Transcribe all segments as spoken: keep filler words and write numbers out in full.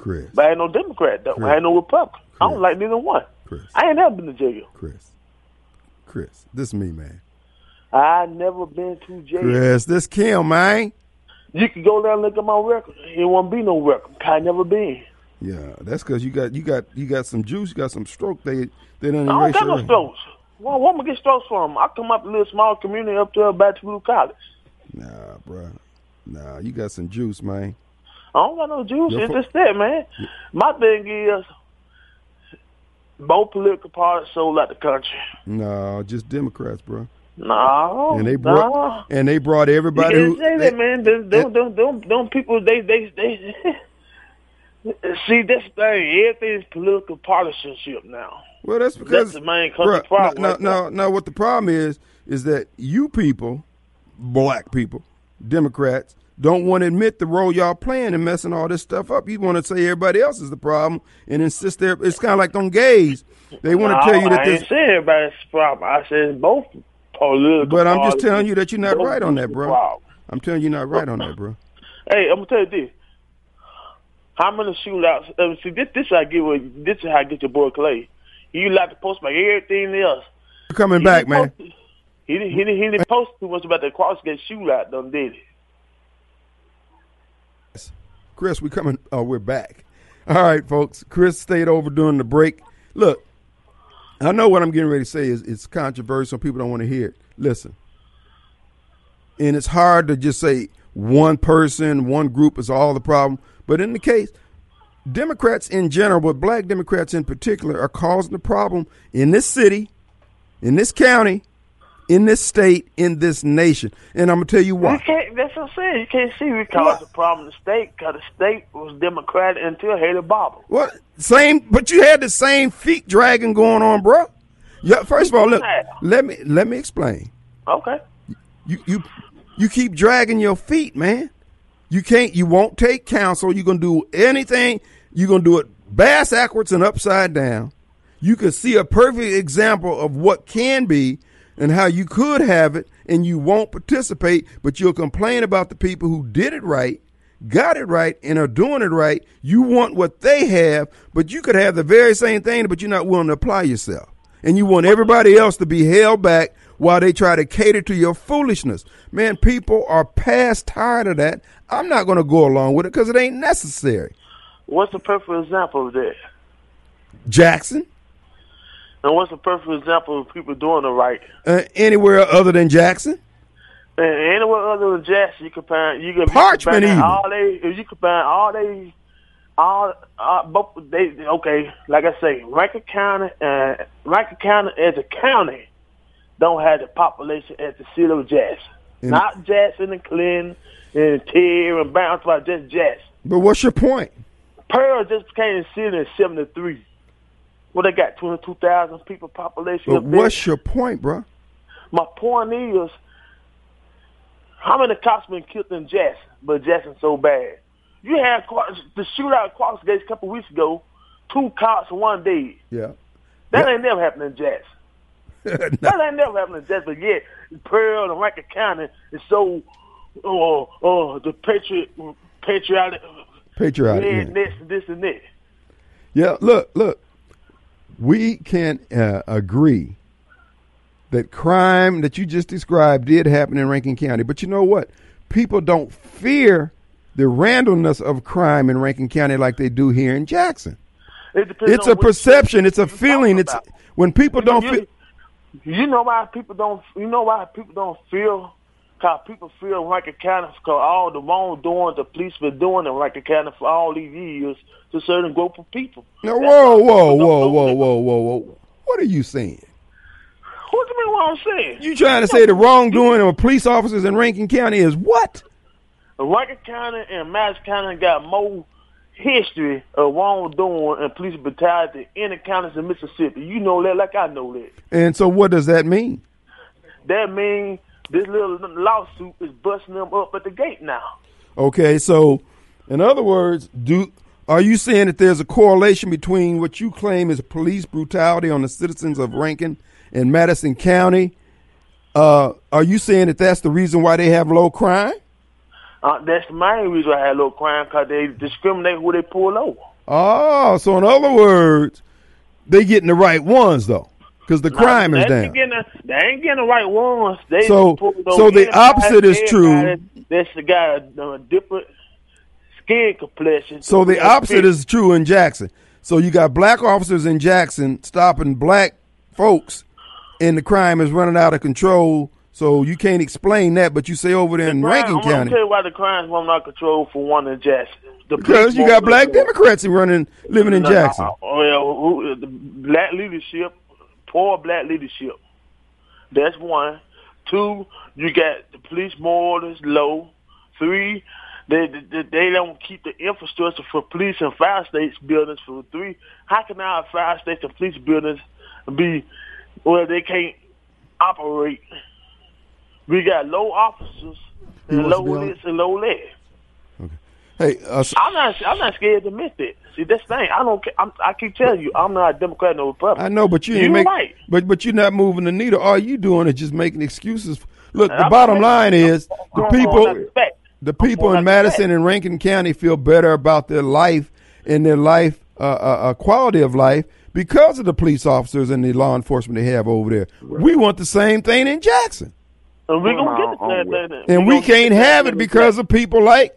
Chris. But I ain't no Democrat, though. Chris. I ain't no Republican. Chris. I don't like neither one. Chris. I ain't never been to jail. Chris. Chris. This is me, man. I never been to jail. Chris, this Kim, man. You can go there and look at my record. It won't be no record. I never been. Yeah, that's because you got you got you got some juice, you got some stroke. They they don't I don't erase got no your- strokes. Well, where am I get strokes from? I come up a little small community up there by Blue College. Nah, bro. Nah, you got some juice, man. I don't got no juice. Your It's fo- just that, man. My thing is, both political parties sold out the country. No, just Democrats, bro. No, And they brought no. and they brought everybody. You Who, can't say they- that, man. Them, them, them, them, them people, they, they, they. See, this thing, everything's political partisanship now. well, that's because That's the main bruh, country problem. No, right no, there. no, no. What the problem is is that you people, black people, Democrats, don't want to admit the role y'all playing in messing all this stuff up. You want to say everybody else is the problem and insist there. It's kind of like them gays. They want No, to tell you that I this. ain't saying everybody's problem. I said both political. But I'm just parties, telling you that you're not both right on that, political bro. problems. I'm telling you you're not right on that, bro. Hey, I'm gonna tell you this. How many shootouts? Uh, see, this this I get with this is how I get your boy Clay. He like to post about everything else. You're coming He back, didn't man. post- He didn't, he didn't, he didn't post too much about the Crossgate shootout, done did he? Chris, we coming. Oh, we're back. All right, folks. Chris stayed over during the break. Look, I know what I'm getting ready to say is it's controversial. People don't want to hear it. Listen, and it's hard to just say one person, one group is all the problem. But in the case, Democrats in general, but black Democrats in particular, are causing the problem in this city, in this county, in this state, in this nation. And I'm going to tell you You why. can't, that's what I'm saying. You can't see we caused the problem in the state because the state was Democratic until Haley Barbour. What? Same, but you had the same feet dragging going on, bro. Yeah. First of all, look. Let me let me explain. Okay. You you you keep dragging your feet, man. You can't. You won't take counsel. You're gonna do anything. You're gonna do it bass backwards and upside down. You can see a perfect example of what can be and how you could have it, and you won't participate. But you'll complain about the people who did it right, got it right, and are doing it right. You want what they have, but you could have the very same thing, but you're not willing to apply yourself. And you want everybody else to be held back while they try to cater to your foolishness. Man, people are past tired of that. I'm not going to go along with it because it ain't necessary. What's the perfect example of that? Jackson, And what's the perfect example of people doing the right? uh, anywhere other than Jackson. And anywhere other than Jackson, you can find you can Parchment you can even. find all they if you can find all they all uh, both they okay. Like I say, Rankin County and Rankin County as a county don't have the population as the city of Jackson. And- Not Jackson and Clinton and Terry and Bounce, but just Jackson. But what's your point? Pearl just became a city in seventy-three. Well, they got twenty-two thousand people population. But up there. what's your point, bro? My point is, how many cops been killed in Jackson, but Jackson so bad? You had Qu- the shootout at Crossgates a couple weeks ago, two cops, one dead. Yeah. That Yeah. ain't never happened in Jackson. That ain't never happened in Jackson. But yet, Pearl and Rankin County is so, oh, oh, the patriot, patriotic, Patriotic. yeah, yeah. this, this, and that. Yeah, look, look. We can uh, agree that crime that you just described did happen in Rankin County. But you know what? People don't fear the randomness of crime in Rankin County like they do here in Jackson. It depends It's on a which perception. It's a you feeling. talking It's about. when people don't you, feel. You know why people don't. You know why people don't feel. Cause people feel Rankin County because all the wrongdoing the police been doing in Rankin County for all these years to certain group of people. No, That's whoa, why whoa, people don't whoa, know whoa, that. whoa, whoa, whoa. What are you saying? What do you mean? What I'm saying? You trying to say the wrongdoing of police officers in Rankin County is what? Rankin County and Madison County got more history of wrongdoing and police brutality than any counties in Mississippi. You know that, like I know that. And so, what does that mean? That means this little lawsuit is busting them up at the gate now. Okay, so in other words, do are you saying that there's a correlation between what you claim is police brutality on the citizens of Rankin and Madison County? Uh, are you saying that that's the reason why they have low crime? Uh, that's the main reason I had low crime because they discriminate who they pull over. Oh, so in other words, they getting the right ones though, because the crime now, is they down. ain't getting the, they ain't getting the right ones. They So, so the opposite is true. That's the guy a, a different skin complexion. So the opposite is true in Jackson. So you got black officers in Jackson stopping black folks, and the crime is running out of control. So you can't explain that, but you say over there the in crime, Rankin I'm County. gonna tell you why the crime's running out of control for one in Jackson. The Because you got black Democrats running, living in Jackson. Uh, well, who, the black leadership, poor black leadership. That's one. Two, you got the police morals low. Three, they, they they don't keep the infrastructure for police and fire station buildings. For three, how can our fire station police buildings be where they can't operate? We got low officers and low list and low lead. Okay. Hey, uh, so I'm not. I'm not scared to admit that. See, this thing, I don't. I'm, I keep telling you, I'm not a Democrat nor Republican. I know, but you ain't You're make, right. But but you're not moving the needle. All you doing is just making excuses. Look, the I'm bottom saying- line is the I'm people, going out fact. the I'm people going in out Madison fact. and Rankin County feel better about their life and their life uh, uh, uh, quality of life because of the police officers and the law enforcement they have over there. We want the same thing in Jackson, And we're Well, gonna get the I'm same with- thing. and We're we gonna get can't the same have thing it in because Jackson. of people like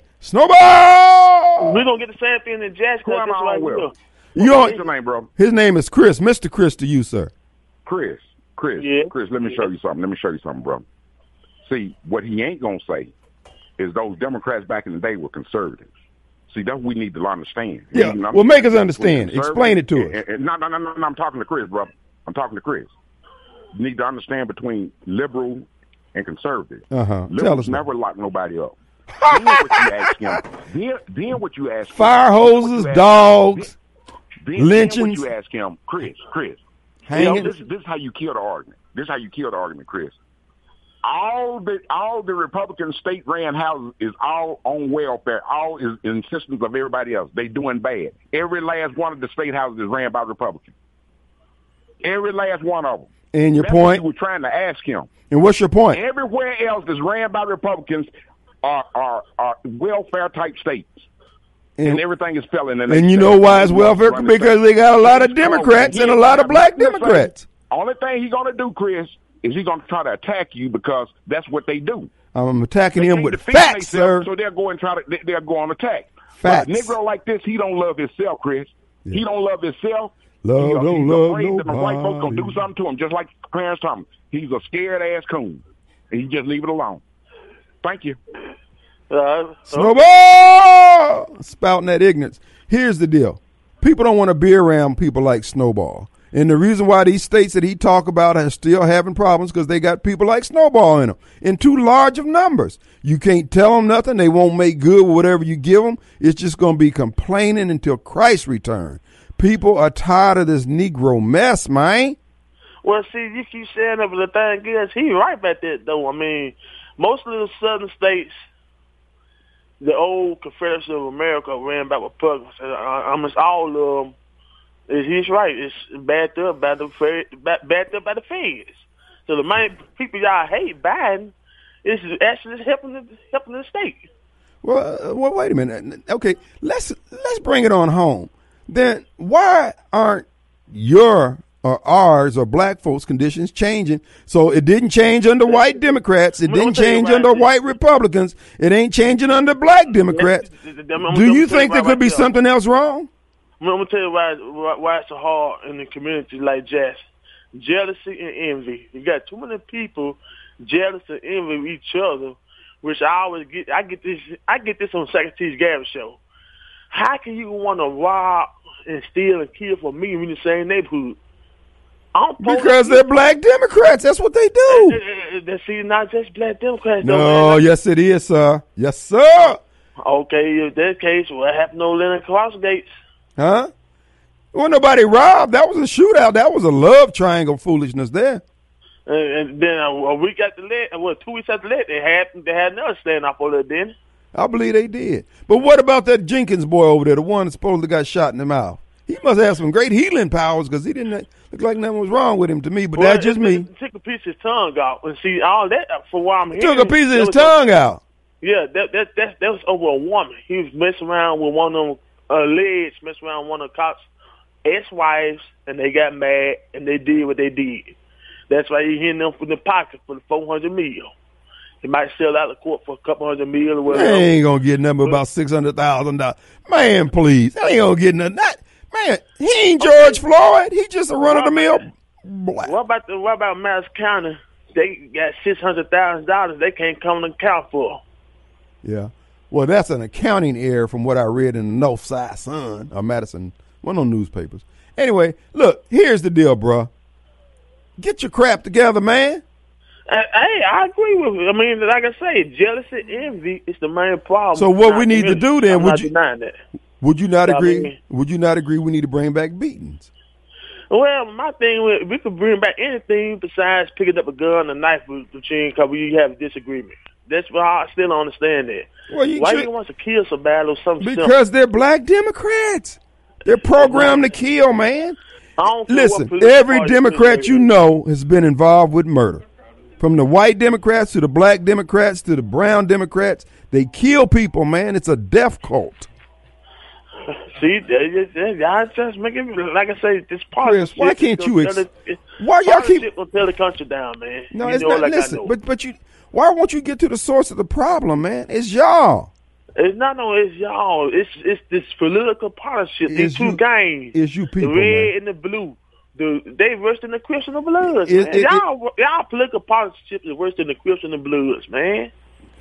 Snowball. We're gonna get the same thing in Jackson. Who am That's I why on we with? do. You What's on, your name, bro? his name is Chris, Mister Chris to you, sir. Chris. Chris. Yeah. Chris, let me show you something. Let me show you something, bro. See, what he ain't going to say is those Democrats back in the day were conservatives. See, that's what we need to understand. Yeah, You know, well, make us we're understand. conservative, Explain it to us. and- and- No, no, no, no, no, I'm talking to Chris, bro. I'm talking to Chris. You need to understand between liberal and conservative. Uh-huh. Tell Liberals us. never lock nobody up. Then what you ask him, then, then what you ask him, Fire then what you hoses, ask him, dogs, then, then lynchings. what you ask him, Chris, Chris, hanging. you know, this, this is how you kill the argument. This is how you kill the argument, Chris. All the all the Republican state ran houses is all on welfare. All is in systems of everybody else. They doing bad. Every last one of the state houses is ran by Republicans. Every last one of them. And your That's point? what you were trying to ask him. And what's your point? Everywhere else that's ran by Republicans are are, are welfare type states. And, And, everything is failing. and you know why it's welfare? Because they got a lot of Democrats and a lot of black Democrats. Only thing he's going to do, Chris, is he's going to try to attack you because that's what they do. I'm attacking They him can't with defend facts, sir. themselves, So they'll go and try to they- they'll go on attack. Facts. But a Negro like this, he don't love himself, Chris. He don't love himself. Love he, don't he's love afraid that the white folks nobody. gonna do something to him, just like Clarence Thomas. He's a scared ass coon, and he just leave it alone. Thank you. Uh, Snowball! Spouting that ignorance. Here's the deal. People don't want to be around people like Snowball. And the reason why these states that he talk about are still having problems because they got people like Snowball in them in too large of numbers. You can't tell them nothing. They won't make good with whatever you give them. It's just going to be complaining until Christ returns. People are tired of this Negro mess, man. Well, see, you keep saying that, but the thing is, he right about that, though. I mean, most of the southern states, the old Confederacy of America ran by Republicans. And I, I mean, all of them, he's right. It's backed up by the Fed, backed up by the feds. So the main people y'all hate Biden is actually helping the, helping the state. Well, uh, well, wait a minute. Okay, let's let's bring it on home. Then why aren't your or ours or black folks' conditions changing? So it didn't change under white Democrats. It I'm gonna didn't tell you change right under now. white Republicans. It ain't changing under black Democrats. I'm gonna Do you tell think there right could be now. something else wrong? I'm gonna tell you why, why why it's so hard in the community like Jackson. Jealousy and envy. You got too many people jealous and envy each other, which I always get. I get this. I get this on Second T's Gavin show. How can you want to rob and steal and kill for me in the same neighborhood? I'm Because they're black Democrats. That's what they do. That's see, not just black Democrats. though, No, man. yes it is, sir. Yes, sir. Okay, if that case, what happened to Leonard Crossgates? Huh? Well, nobody robbed. That was a shootout. That was a love triangle foolishness there. And, and then a, a week after that, well, two weeks after that, they had they had another standoff over there. Then I believe they did. But what about that Jenkins boy over there, the one that supposedly got shot in the mouth? He must have some great healing powers because he didn't look like nothing was wrong with him to me. But well, that's just it, me. It took a piece of his tongue out, and see all that for what I'm hearing. Took a piece of that his was- tongue out. Yeah, that that that that was over a woman. He was messing around with one of them alleged messed around with one of the cops' ex-wives, and they got mad and they did what they did. That's why you hitting them from the pocket for the four hundred mil. He might sell out of court for a couple hundred mil or whatever. They ain't gonna get nothing about six hundred thousand dollars. Man, please, they ain't gonna get nothing. That, man, he ain't George Floyd. He just a run of the mill black. What about the what about Madison County? They got six hundred thousand dollars. They can't come and account for. Yeah, well, that's an accounting error from what I read in the North Side Sun or Madison, one of those newspapers. Anyway, look, here's the deal, bro. Get your crap together, man. Hey, I agree with you. I mean, like I say, jealousy, envy is the main problem. So what we need to do then? I'm would not you denying that. would you not So, I agree? mean- would you not agree? We need to bring back beatings. Well, my thing, with- we could bring back anything besides picking up a gun and a knife between because we have a disagreement. That's why I still don't understand that. Well, you why should- you want to kill so bad or something? simple? Because they're black Democrats. They're programmed to kill, man. I don't care what Listen, political every party Democrat is. you know has been involved with murder. From the white Democrats to the black Democrats to the brown Democrats, they kill people, man. It's a death cult. See, they just, they, y'all just making like I say, this partnership. Chris, why is can't gonna you tell ex- the- why y'all keep- partnership gonna tear the country down, man? No, you it's know not. it like I listen, know. but but you, why won't you get to the source of the problem, man? It's y'all. It's not no, it's y'all. It's it's this political partnership. These It's two you- gangs. it's you people, the red man. and the blue. The they worse than the Crips and the Bloods. It- man. it- y'all y'all political partnership is worse than the Crips and the Bloods, man.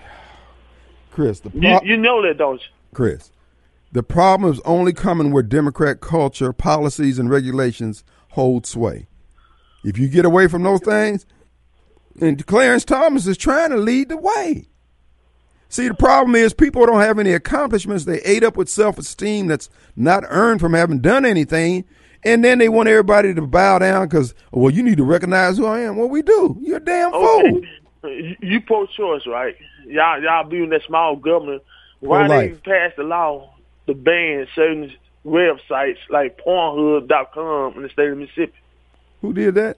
Chris, the You, pro- you know that, don't you? Chris, the problem is only coming where Democrat culture, policies, and regulations hold sway. If you get away from those things, and Clarence Thomas is trying to lead the way. See, the problem is people don't have any accomplishments. They ate up with self-esteem that's not earned from having done anything. And then they want everybody to bow down because, well, you need to recognize who I am. Well, we do. You're a damn fool. Okay. You, you pro-choice, right? Y'all y'all believe in that small government. Why they Pro-life. passed the law to ban certain websites like Pornhub dot com in the state of Mississippi? Who did that?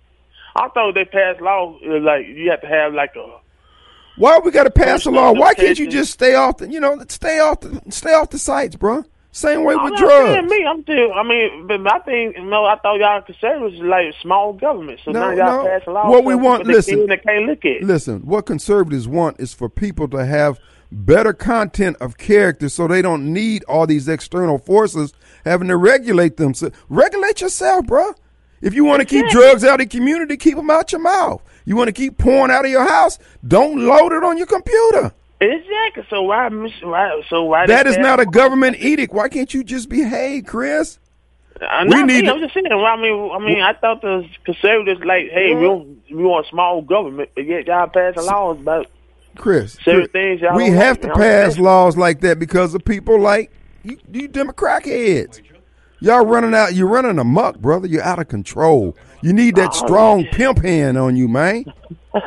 I thought they passed law uh, like you have to have like a Why we got to pass a law? Why can't you Education. just stay off the, you know, stay off the, stay off the sites, bro? Same way I'm with not drugs. saying me. I'm still. I mean, but my thing. You know, I thought y'all conservatives is like small government. So No, now y'all no. pass a law. What we for want- people that listen. can't- They can't look at. Listen, what conservatives want is for people to have better content of character so they don't need all these external forces having to regulate them. So regulate yourself, bro. If you want to keep Exactly. drugs out of the community, keep them out your mouth. You want to keep porn out of your house, don't load it on your computer. Exactly. So why? miss- why so why? That they is pass- not a government edict. Why can't you just behave, Chris? Uh, We not need me. to- I'm just saying. Well, I mean, I mean, I thought the conservatives like, hey, we don't, we want small government, but yet y'all passing laws about. Chris, Certain Chris, things y'all we don't have like, to man. I'm pass saying. laws like that because of people like you, you Democrat heads. Y'all running out. You're running amok, brother. You're out of control. You need that Oh, strong pimp hand on you, man. All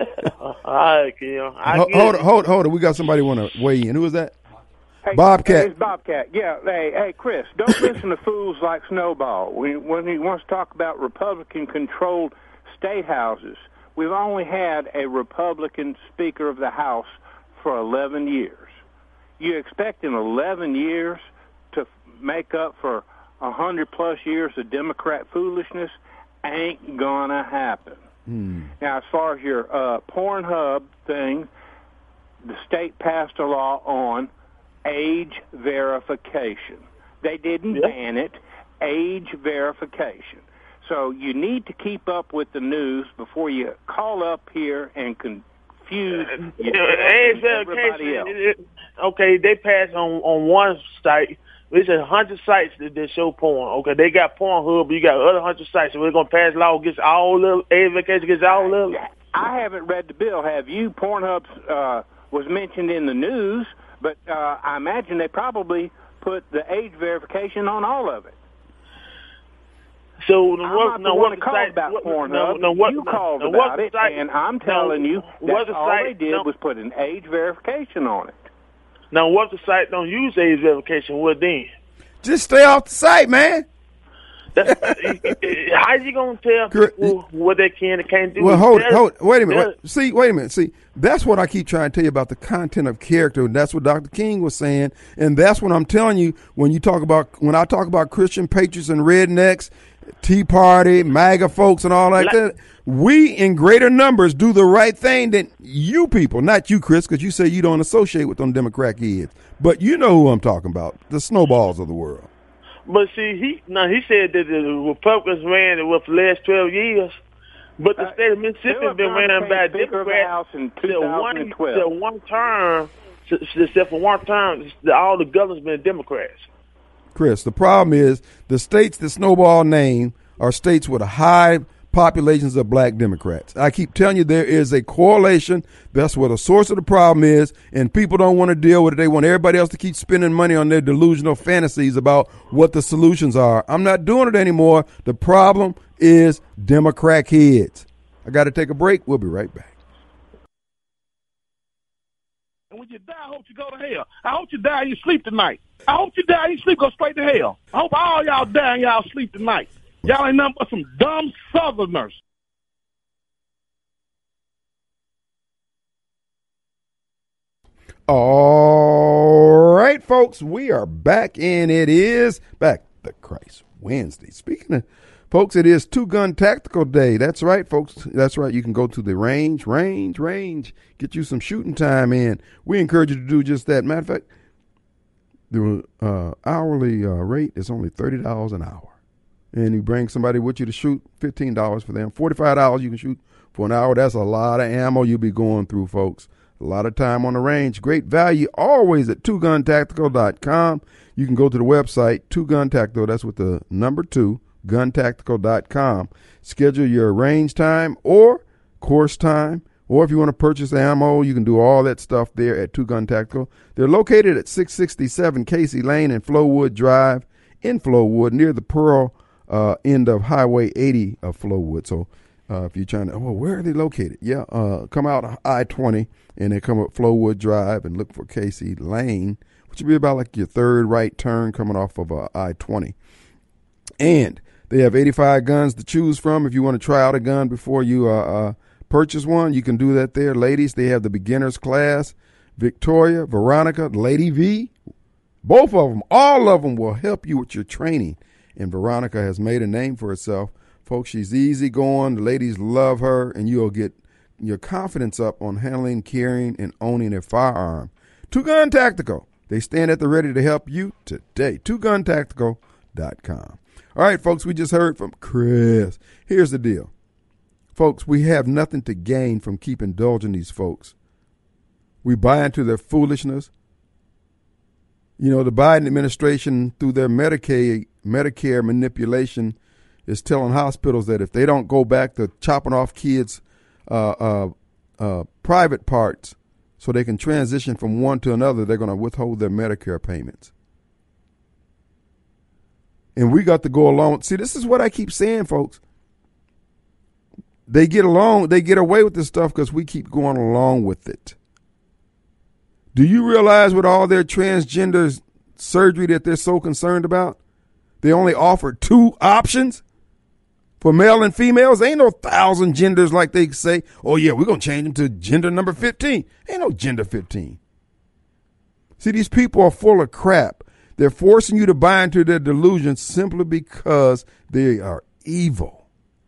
right, Kim. I Ho- get Hold it. it, hold it, hold it. We got somebody want to weigh in. Who is that? Hey, Bobcat. Hey, it's Bobcat. Yeah. Hey, hey, Chris, don't listen to fools like Snowball. When, when he wants to talk about Republican-controlled state houses, we've only had a Republican Speaker of the House for eleven years. You expect in eleven years to make up for one hundred plus years of Democrat foolishness? Ain't gonna happen. Hmm. Now, as far as your uh, Pornhub thing, the state passed a law on age verification. They didn't Yeah. ban it, age verification. So you need to keep up with the news before you call up here and confuse You yourself know, age and everybody verification. else. it- it- Okay, they passed on on one site. It's a hundred sites that, that show porn. Okay, they got Pornhub, but you got other hundred sites. So we're gonna pass law against all of age verification against all of them. I haven't read the bill. Have you? Pornhub uh, was mentioned in the news, but uh, I imagine they probably put the age verification on all of it. So the I'm what, not no, the what one that the called site, about what, Pornhub. No, no, what, you no, called no, about what it, site, and I'm no, telling you what that's the all site, they did no, was put an age verification on it. Now, what if the site don't use age verification? What then? Just stay off the site, man. That's, how you gonna tell people what they can and can't do? Well, hold it, hold it. Wait a minute. Wait, see, wait a minute. See, that's what I keep trying to tell you about the content of character. That's what Doctor King was saying, and that's what I'm telling you when you talk about when I talk about Christian patriots and rednecks, Tea Party, MAGA folks, and all like, like that. We, in greater numbers, do the right thing than you people. Not you, Chris, because you say you don't associate with them Democrat kids. But you know who I'm talking about, the snowballs of the world. But see, he now he said that the Republicans ran it with the last twelve years, but the uh, state of Mississippi has been ran by Democrats till one, till one term, except for one term, all the governors been Democrats. Chris, the problem is the states that Snowball named are states with a high populations of black Democrats. I keep telling you there is a correlation. That's where the source of the problem is, and people don't want to deal with it. They want everybody else to keep spending money on their delusional fantasies about what the solutions are. I'm not doing it anymore. The problem is Democrat kids. I got to take a break. We'll be right back. And when you die, I hope you go to hell. I hope you die and you sleep tonight. I hope you die and you sleep, go straight to hell. I hope all y'all die and y'all sleep tonight. Y'all ain't nothing but some dumb Southerners. All right, folks, we are back, and it is Back to Christ Wednesday. Speaking of, folks, it is Two Gun Tactical Day. That's right, folks. That's right. You can go to the range, range, range, get you some shooting time in. We encourage you to do just that. Matter of fact, the uh, hourly uh, rate is only thirty dollars an hour. And you bring somebody with you to shoot, fifteen dollars for them. forty-five dollars you can shoot for an hour. That's a lot of ammo you'll be going through, folks. A lot of time on the range. Great value always at two gun tactical dot com. You can go to the website, two gun tactical, that's with the number two, gun tactical dot com. Schedule your range time or course time. Or if you want to purchase ammo, you can do all that stuff there at two gun tactical. They're located at six sixty-seven Casey Lane and Flowood Drive in Flowood near the Pearl Uh, end of Highway eighty of Flowood. So uh, if you're trying to, oh, where are they located? Yeah, uh, come out I twenty and then come up Flowood Drive and look for Casey Lane, which would be about like your third right turn coming off of uh, I twenty. And they have eighty-five guns to choose from. If you want to try out a gun before you uh, uh, purchase one, you can do that there. Ladies, they have the beginners class. Victoria, Veronica, Lady V, both of them, all of them will help you with your training. And Veronica has made a name for herself. Folks, she's easygoing. The ladies love her, and you'll get your confidence up on handling, carrying, and owning a firearm. Two Gun Tactical. They stand at the ready to help you today. two gun tactical dot com. All right, folks, we just heard from Chris. Here's the deal. Folks, we have nothing to gain from keep indulging these folks. We buy into their foolishness. You know, the Biden administration, through their Medicaid, Medicare manipulation, is telling hospitals that if they don't go back to chopping off kids' uh, uh, uh, private parts so they can transition from one to another, they're going to withhold their Medicare payments. And we got to go along. See, this is what I keep saying, folks. They get along, they get away with this stuff because we keep going along with it. Do you realize with all their transgender surgery that they're so concerned about, they only offer two options for male and females? Ain't no thousand genders like they say, oh, yeah, we're going to change them to gender number fifteen. Ain't no gender fifteen. See, these people are full of crap. They're forcing you to buy into their delusions simply because they are evil.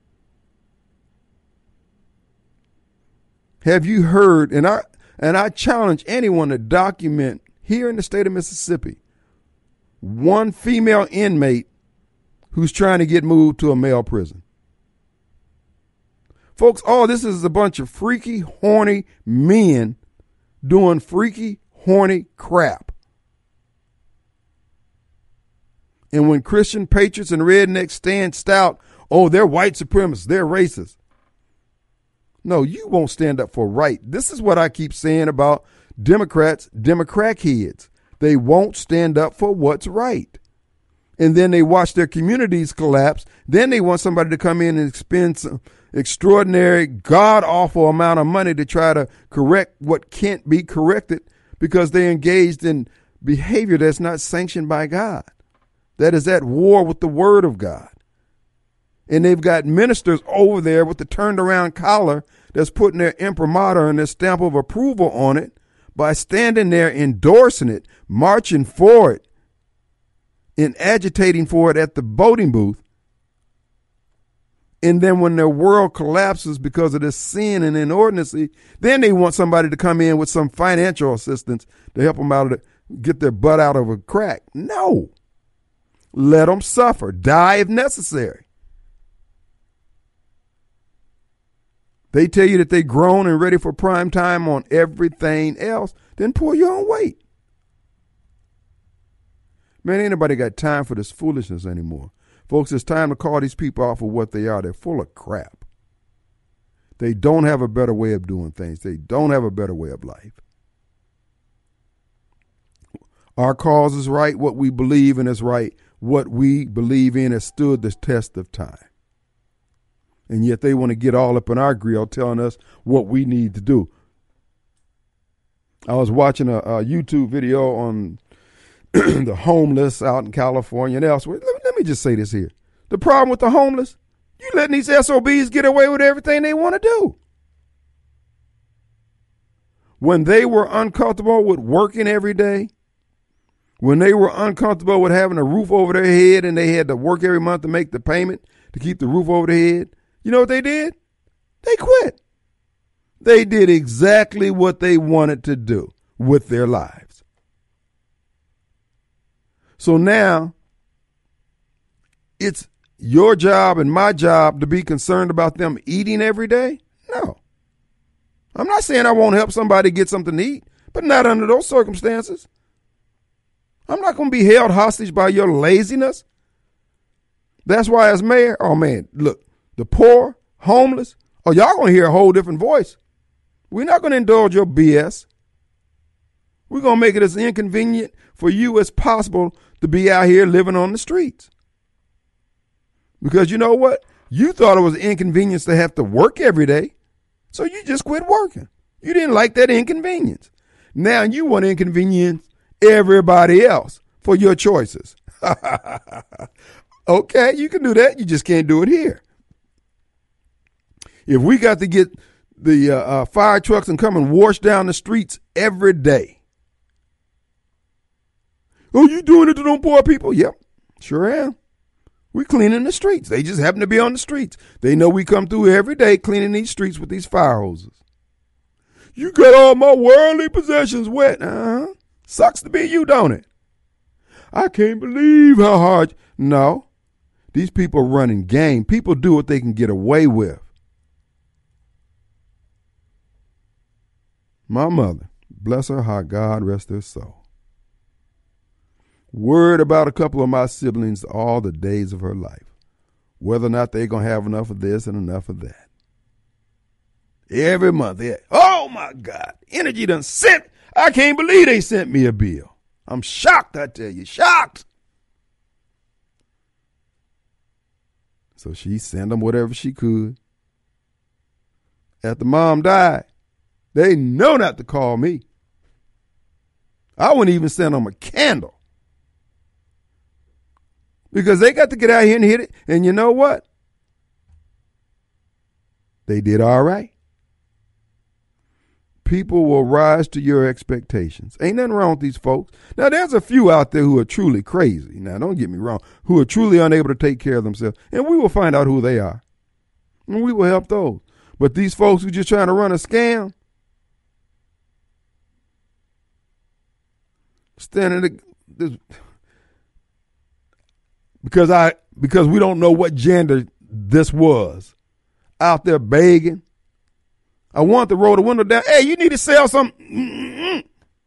Have you heard, and I and I challenge anyone to document here in the state of Mississippi, one female inmate who's trying to get moved to a male prison. Folks, all this is a bunch of freaky, horny men doing freaky, horny crap. And when Christian patriots and rednecks stand stout, oh, they're white supremacists, they're racist. No, you won't stand up for right. This is what I keep saying about Democrats, Democrat heads. They won't stand up for what's right. And then they watch their communities collapse. Then they want somebody to come in and spend some extraordinary, god-awful amount of money to try to correct what can't be corrected because they engaged in behavior that's not sanctioned by God. That is at war with the word of God. And they've got ministers over there with the turned around collar that's putting their imprimatur and their stamp of approval on it by standing there endorsing it, marching for it, and agitating for it at the voting booth. And then when their world collapses because of this sin and inordinacy, then they want somebody to come in with some financial assistance to help them out of the, get their butt out of a crack. No. Let them suffer. Die if necessary. They tell you that they're grown and ready for prime time on everything else, then pull your own weight. Man, ain't nobody got time for this foolishness anymore. Folks, it's time to call these people out for what they are. They're full of crap. They don't have a better way of doing things. They don't have a better way of life. Our cause is right. What we believe in is right. What we believe in has stood the test of time. And yet they want to get all up in our grill telling us what we need to do. I was watching a, a YouTube video on the homeless out in California and elsewhere. Let, let me just say this here. The problem with the homeless, you letting these S O Bs get away with everything they want to do. When they were uncomfortable with working every day, when they were uncomfortable with having a roof over their head and they had to work every month to make the payment to keep the roof over their head, you know what they did? They quit. They did exactly what they wanted to do with their lives. So now it's your job and my job to be concerned about them eating every day? No. I'm not saying I won't help somebody get something to eat, but not under those circumstances. I'm not going to be held hostage by your laziness. That's why as mayor, oh man, look, the poor, homeless, oh, y'all going to hear a whole different voice. We're not going to indulge your B S. We're going to make it as inconvenient for you as possible to be out here living on the streets. Because you know what? You thought it was an inconvenience to have to work every day, so you just quit working. You didn't like that inconvenience. Now you want to inconvenience everybody else for your choices. Okay, you can do that. You just can't do it here. If we got to get the uh, uh, fire trucks and come and wash down the streets every day. Oh, you doing it to them poor people? Yep, sure am. We cleaning the streets. They just happen to be on the streets. They know we come through every day cleaning these streets with these fire hoses. You got all my worldly possessions wet. Uh-huh. Sucks to be you, don't it? I can't believe how hard. No. These people running game. People do what they can get away with. My mother, bless her heart, God rest her soul, worried about a couple of my siblings all the days of her life, whether or not they're going to have enough of this and enough of that. Every month, they, oh my God, Energy done sent, I can't believe they sent me a bill. I'm shocked, I tell you, shocked. So she sent them whatever she could. After mom died, they know not to call me. I wouldn't even send them a candle. Because they got to get out here and hit it. And you know what? They did all right. People will rise to your expectations. Ain't nothing wrong with these folks. Now, there's a few out there who are truly crazy. Now, don't get me wrong. Who are truly unable to take care of themselves. And we will find out who they are. And we will help those. But these folks who just trying to run a scam, standing this, because I because we don't know what gender this was, out there begging. I want to roll the window down. Hey, you need to sell something. Mm-mm.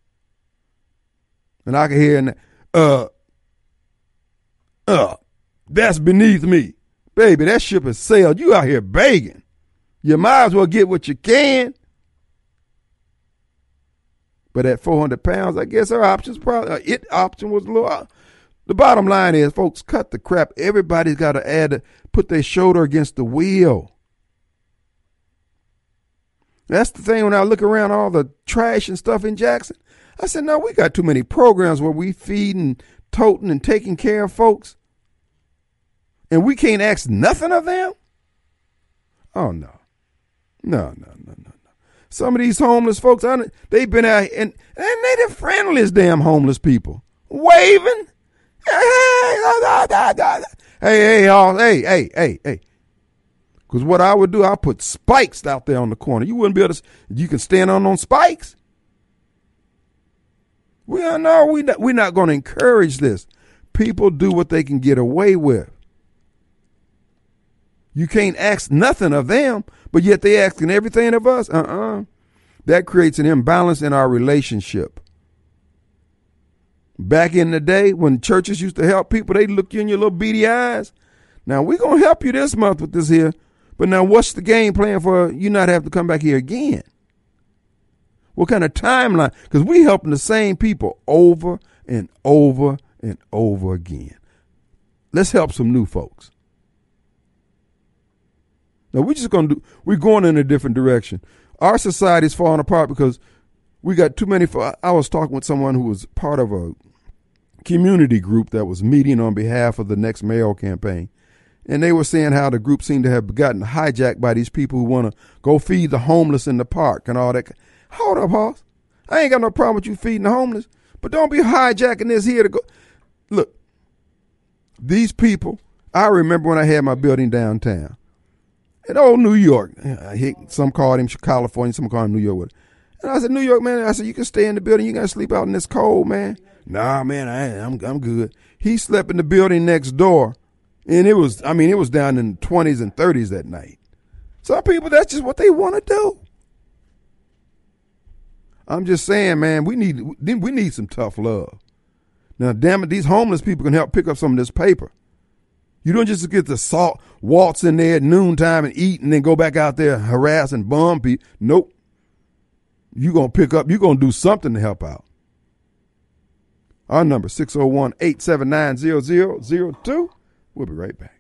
And I can hear, uh, uh, that's beneath me. Baby, that ship has sailed. You out here begging. You might as well get what you can. But at four hundred pounds, I guess her options probably, uh, it option was a little, uh, the bottom line is, folks, cut the crap. Everybody's got to add, put their shoulder against the wheel. That's the thing when I look around all the trash and stuff in Jackson. I said, no, we got too many programs where we feeding, toting, and taking care of folks. And we can't ask nothing of them? Oh, no. No, no, no, no, no. Some of these homeless folks, I, they've been out, and, and they the friendliest damn homeless people. Waving. Hey, hey, y'all. Hey, hey, hey, hey. Because what I would do, I'll put spikes out there on the corner. You wouldn't be able to, you can stand on those spikes. We are, no, we not, we're not going to encourage this. People do what they can get away with. You can't ask nothing of them, but yet they asking everything of us. Uh-uh. That creates an imbalance in our relationship. Back in the day when churches used to help people, they'd look you in your little beady eyes. Now, we're going to help you this month with this here, but now what's the game plan for you not have to come back here again? What kind of timeline? Because we helping the same people over and over and over again. Let's help some new folks. Now, we're just going to do, we're going in a different direction. Our society is falling apart because we got too many. I was talking with someone who was part of a community group that was meeting on behalf of the Next Mayo campaign. And they were saying how the group seemed to have gotten hijacked by these people who want to go feed the homeless in the park and all that. Hold up, Hoss. I ain't got no problem with you feeding the homeless, but don't be hijacking this here to go. Look, these people, I remember when I had my building downtown. In old New York, some called him California, some called him New York. And I said, New York, man, I said, you can stay in the building. You got to sleep out in this cold, man. Nah, man, I, I'm I'm good. He slept in the building next door, and it was, I mean, it was down in the twenties and thirties that night. Some people, that's just what they want to do. I'm just saying, man, we need we need some tough love. Now, damn it, these homeless people can help pick up some of this paper. You don't just get the salt, waltz in there at noontime and eat and then go back out there and harass and bum people. Nope. You're going to pick up, you're going to do something to help out. Our number, six oh one, eight seven nine, zero zero zero two. We'll be right back.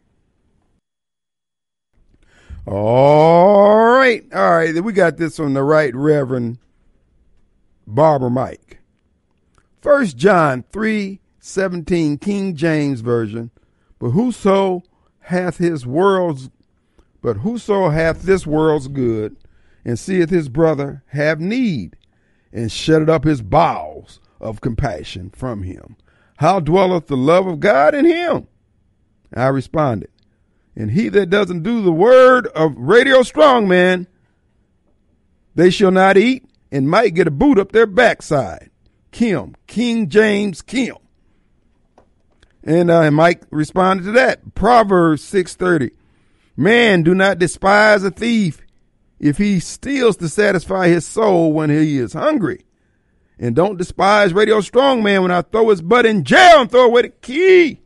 All right. All right. We got this from the Right Reverend Barbara Mike. First John three seventeen, King James Version. But whoso hath his world's, but whoso hath this world's good, and seeth his brother have need, and shutteth up his bowels of compassion from him, how dwelleth the love of God in him? I responded, and he that doesn't do the word of Radio Strongman, they shall not eat, and might get a boot up their backside. Kim, King James Kim. And uh, Mike responded to that. Proverbs six thirty. Man, do not despise a thief if he steals to satisfy his soul when he is hungry. And don't despise Radio Strongman when I throw his butt in jail and throw away the key.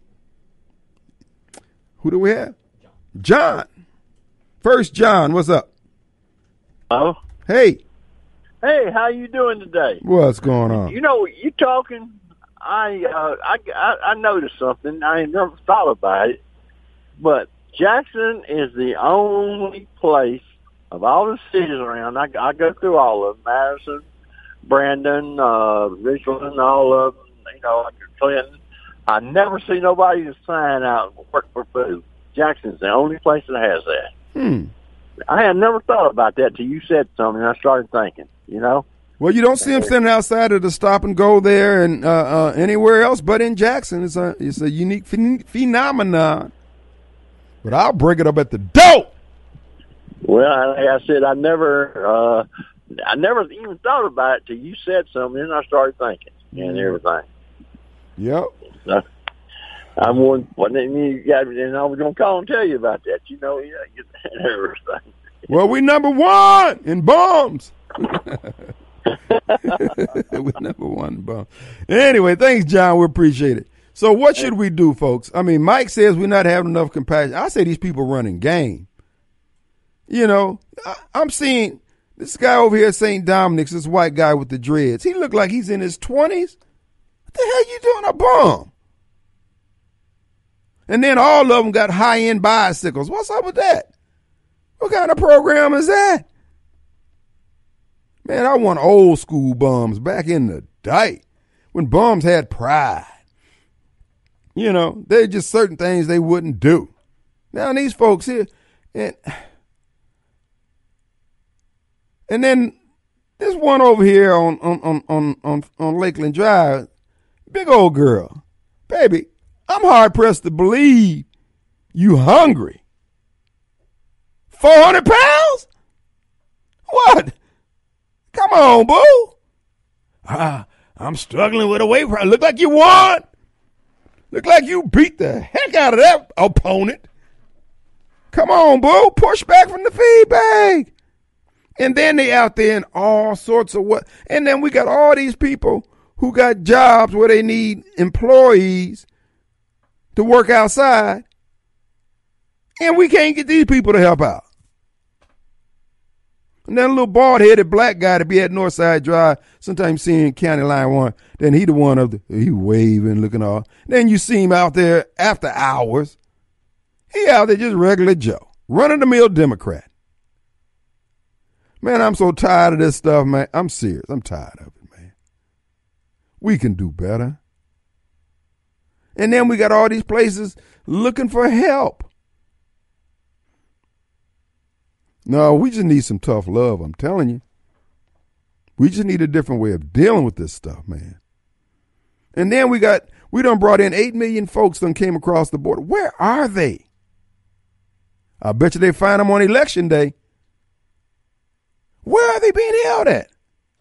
Who do we have? John. First John, what's up? Hello. Hey. Hey, how you doing today? What's going on? You know, you talking... I, uh, I, I noticed something. I ain't never thought about it, but Jackson is the only place of all the cities around. I, I go through all of them: Madison, Brandon, uh, Richland, all of them. You know, Clinton. I never see nobody to sign out work for food. Jackson's the only place that has that. Hmm. I had never thought about that till you said something. And I started thinking. You know. Well, you don't see them standing outside of the Stop and Go there and uh, uh, anywhere else but in Jackson. It's a it's a unique phen- phenomenon. But I'll break it up at the door. Well, like I said, I never, uh, I never even thought about it till you said something, and I started thinking and everything. Yep. So, I'm one. Well, then you got, and I was gonna call and tell you about that. You know, yeah, and everything. Well, we number one in bombs. We're number one in bombs. Anyway, thanks, John. We appreciate it. So, what should we do, folks? I mean, Mike says we're not having enough compassion. I say these people running game. You know, I, I'm seeing this guy over here at Saint Dominic's, this white guy with the dreads. He looked like he's in his twenties. What the hell you doing a bum? And then all of them got high-end bicycles. What's up with that? What kind of program is that? Man, I want old school bums back in the day when bums had pride. You know, there's just certain things they wouldn't do. Now these folks here, and and then this one over here on on on on on, on Lakeland Drive, big old girl, baby. I'm hard pressed to believe you hungry. Four hundred pounds? What? Come on, boo. Ah, I'm struggling with a weight problem. Look like you won. Look like you beat the heck out of that opponent. Come on, boo. Push back from the feed bag. And then they out there in all sorts of what. And then we got all these people who got jobs where they need employees to work outside. And we can't get these people to help out. And then a little bald-headed black guy to be at Northside Drive, sometimes seeing County Line one, then he the one of the, he waving, looking all. Then you see him out there after hours. He out there just regular Joe, run-of-the-mill Democrat. Man, I'm so tired of this stuff, man. I'm serious. I'm tired of it, man. We can do better. And then we got all these places looking for help. No, we just need some tough love, I'm telling you. We just need a different way of dealing with this stuff, man. And then we got, we done brought in eight million folks done came across the border. Where are they? I bet you they find them on election day. Where are they being held at?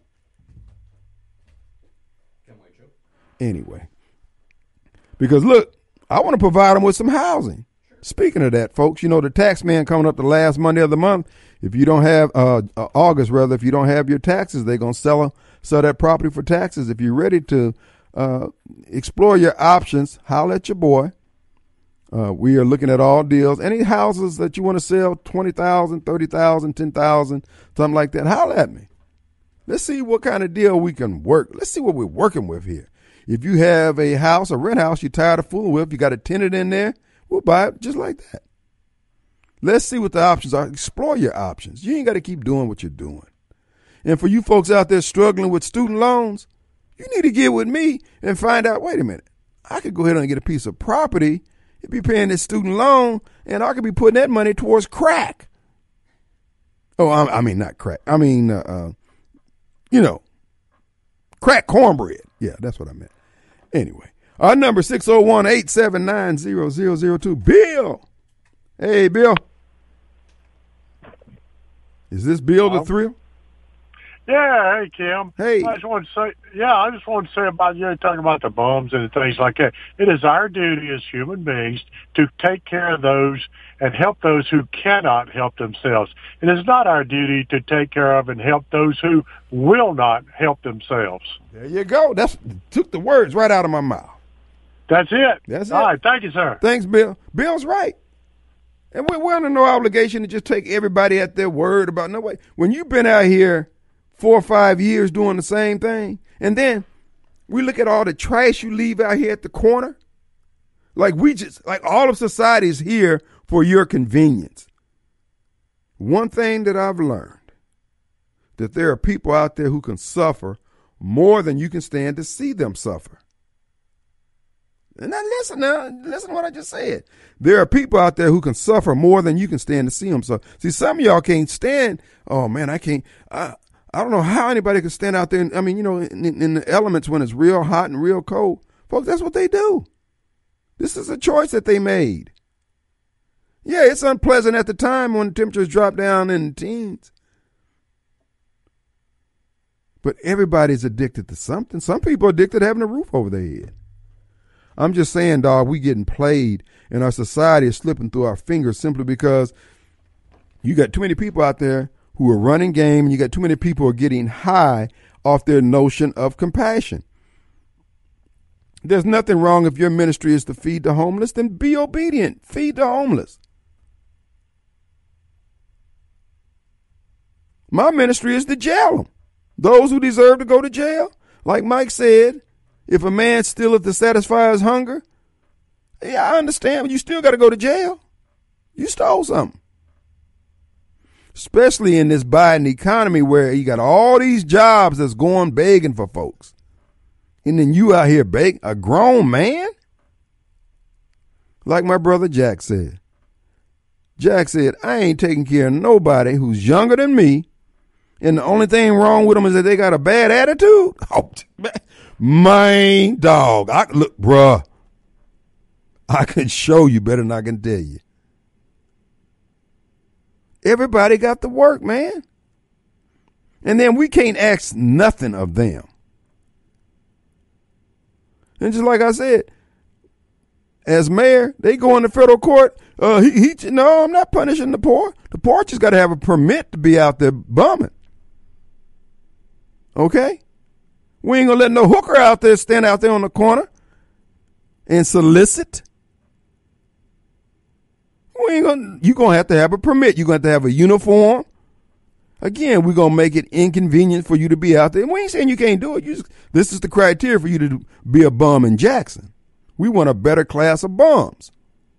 Anyway. Because look, I want to provide them with some housing. Speaking of that, folks, you know, the tax man coming up the last Monday of the month, if you don't have, uh, uh August rather, if you don't have your taxes, they're going to sell, a, sell that property for taxes. If you're ready to uh, explore your options, holler at your boy. Uh, we are looking at all deals. Any houses that you want to sell, twenty thousand dollars, thirty thousand dollars, ten thousand dollars, something like that, holler at me. Let's see what kind of deal we can work. Let's see what we're working with here. If you have a house, a rent house you're tired of fooling with, you got a tenant in there, we'll buy it just like that. Let's see what the options are. Explore your options. You ain't got to keep doing what you're doing. And for you folks out there struggling with student loans, you need to get with me and find out, wait a minute, I could go ahead and get a piece of property and be paying this student loan, and I could be putting that money towards crack. Oh, I, I mean, not crack. I mean, uh, uh, you know, crack cornbread. Yeah, that's what I meant. Anyway. Our number six oh one, eight seven nine, zero zero zero two. Bill. Hey, Bill. Is this Bill the Thrill? Yeah, hey, Kim. Hey. I just want to say, yeah, I just want to say about, you know, talking about the bums and things like that. It is our duty as human beings to take care of those and help those who cannot help themselves. It is not our duty to take care of and help those who will not help themselves. There you go. That's took the words right out of my mouth. That's it. That's it. All right. Thank you, sir. Thanks, Bill. Bill's right. And we're, we're under no obligation to just take everybody at their word about no way. When you've been out here four or five years doing the same thing, and then we look at all the trash you leave out here at the corner, like we just, like all of society is here for your convenience. One thing that I've learned, that there are people out there who can suffer more than you can stand to see them suffer. And now listen now, listen to what I just said. There are people out there who can suffer more than you can stand to see them suffer. See, some of y'all can't stand, oh man, I can't, I, I don't know how anybody can stand out there. And, I mean, you know, in, in the elements when it's real hot and real cold, folks, that's what they do. This is a choice that they made. Yeah, it's unpleasant at the time when temperatures drop down in the teens. But everybody's addicted to something. Some people are addicted to having a roof over their head. I'm just saying, dog, we getting played and our society is slipping through our fingers simply because you got too many people out there who are running game and you got too many people who are getting high off their notion of compassion. There's nothing wrong if your ministry is to feed the homeless, then be obedient. Feed the homeless. My ministry is to jail them. Those who deserve to go to jail. Like Mike said, if a man stealeth to satisfy his hunger, yeah, I understand, but you still got to go to jail. You stole something. Especially in this Biden economy where you got all these jobs that's going begging for folks. And then you out here begging, a grown man? Like my brother Jack said, Jack said, I ain't taking care of nobody who's younger than me, and the only thing wrong with them is that they got a bad attitude. Oh, man, dog. I look, bruh, I can show you better than I can tell you. Everybody got to work, man. And then we can't ask nothing of them. And just like I said, as mayor, they go into federal court. Uh, he, he, no, I'm not punishing the poor. The poor just got to have a permit to be out there bumming. Okay? We ain't going to let no hooker out there stand out there on the corner and solicit. We ain't gonna, you're going to have to have a permit. You're going to have to have a uniform. Again, we're going to make it inconvenient for you to be out there. And we ain't saying you can't do it. You just, this is the criteria for you to be a bum in Jackson. We want a better class of bums.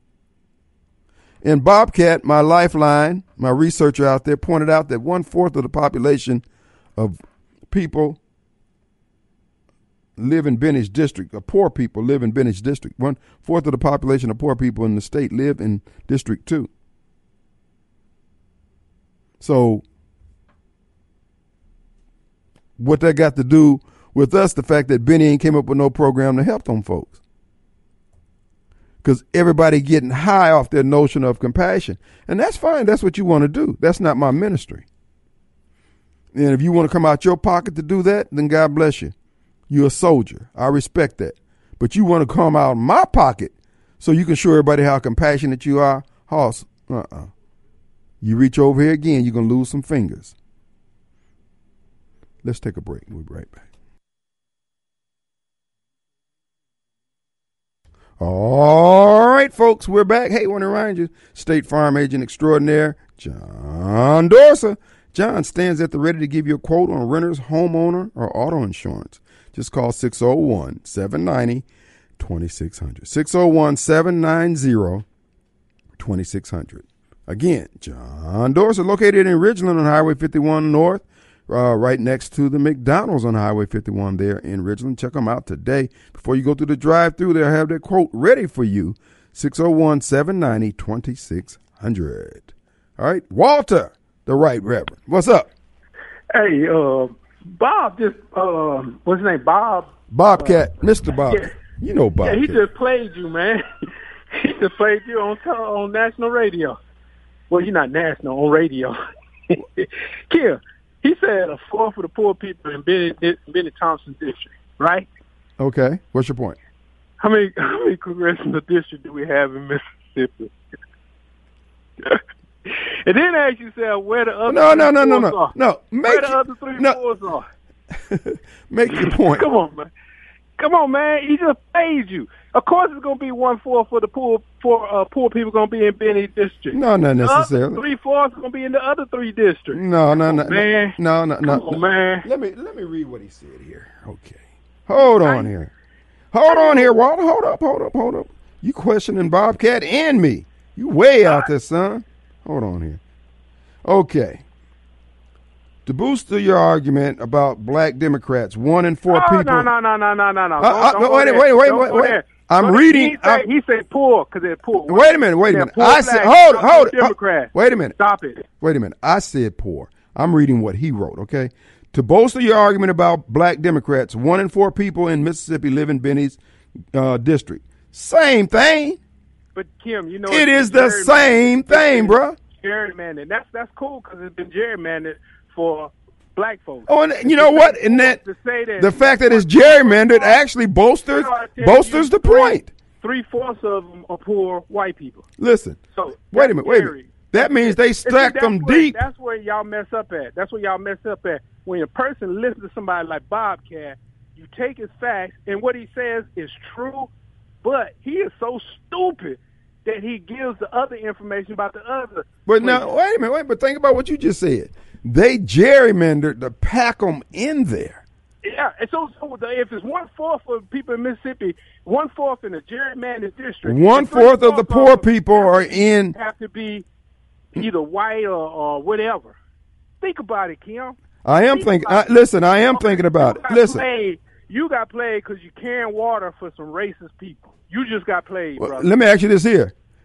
And Bobcat, my lifeline, my researcher out there, pointed out that one-fourth of the population of people live in Bennett District, or poor people live in Bennett District. One-fourth of the population of poor people in the state live in District two. So what that got to do with us, the fact that Benny ain't came up with no program to help them folks. Because everybody getting high off their notion of compassion. And that's fine. That's what you want to do. That's not my ministry. And if you want to come out your pocket to do that, then God bless you. You're a soldier. I respect that. But you want to come out of my pocket so you can show everybody how compassionate you are? Hoss, uh-uh. You reach over here again, you're going to lose some fingers. Let's take a break. We'll be right back. All right, folks, we're back. Hey, I want to remind you, State Farm Agent Extraordinaire, John Dorsa. John stands at the ready to give you a quote on renter's, homeowner, or auto insurance. Just call six oh one, seven nine zero, two six zero zero. six oh one, seven nine zero, two six zero zero. Again, John Dorsa, located in Ridgeland on Highway fifty-one North, uh, right next to the McDonald's on Highway fifty-one there in Ridgeland. Check them out today. Before you go through the drive-through, they'll have their quote ready for you. six oh one, seven nine zero, two six zero zero. All right, Walter, the Right Reverend. What's up? Hey, uh, Bob just, uh, what's his name, Bob? Bobcat, uh, Mister Bob. Yeah. You know Bobcat. Yeah, he just played you, man. He just played you on on national radio. Well, you're not national, on radio. Kim, he said a fourth for the poor people in Benny, Benny Thompson district, right? Okay. What's your point? How many how many congressional districts do we have in Mississippi? And then ask yourself where the other no, three no, no, no, fours no, are. no. Make where the you, other three no. fours are. Make your point. Come on, man. Come on, man. He just paid you. Of course, it's gonna be one fourth for the poor. For uh, poor people, gonna be in Benny district. No, not necessarily. Three fourths gonna be in the other three districts. No, no, no, on, man. No, no, no, Come on, no. man. Let me let me read what he said here. Okay, hold on here. Hold on here, Walter. Hold up, hold up, hold up. You questioning Bobcat and me? You way out there, son. Hold on here. Okay. To boost your argument about black Democrats, one in four oh, people. No, no, no, no, no, no, no. Uh, uh, don't, don't wait, wait, wait, wait, wait, wait. I'm go reading. He said, he said poor because they're poor. Wait a minute, wait a minute. Poor I said, black, hold it, hold it. Democrat. Wait a minute. Stop it. Wait a minute. I said poor. I'm reading what he wrote, okay? To bolster your argument about black Democrats, one in four people in Mississippi live in Benny's uh, district. Same thing. But, Kim, you know. It is the same thing, bro. Gerrymandered. That's, that's cool because it's been gerrymandered for black folks. Oh, and you know what? And that, to say that the fact that it's gerrymandered actually bolsters bolsters the point. Three fourths of them are poor white people. Listen. So wait a minute. Wait a minute. That means they stacked them where, deep. That's where y'all mess up at. That's where y'all mess up at. When a person listens to somebody like Bobcat, you take his facts and what he says is true, but he is so stupid that he gives the other information about the other. But now, wait a minute, wait, but think about what you just said. They gerrymandered to pack them in there. Yeah, and so, so if it's one-fourth of people in Mississippi, one-fourth in a gerrymandered district. One-fourth of the poor people are in. Have to be either white or, or whatever. Think about it, Kim. I am Think thinking. I, listen, I am thinking about it. Listen. Played, you got played because you carrying water for some racist people. You just got played, well, brother. let me ask you this here.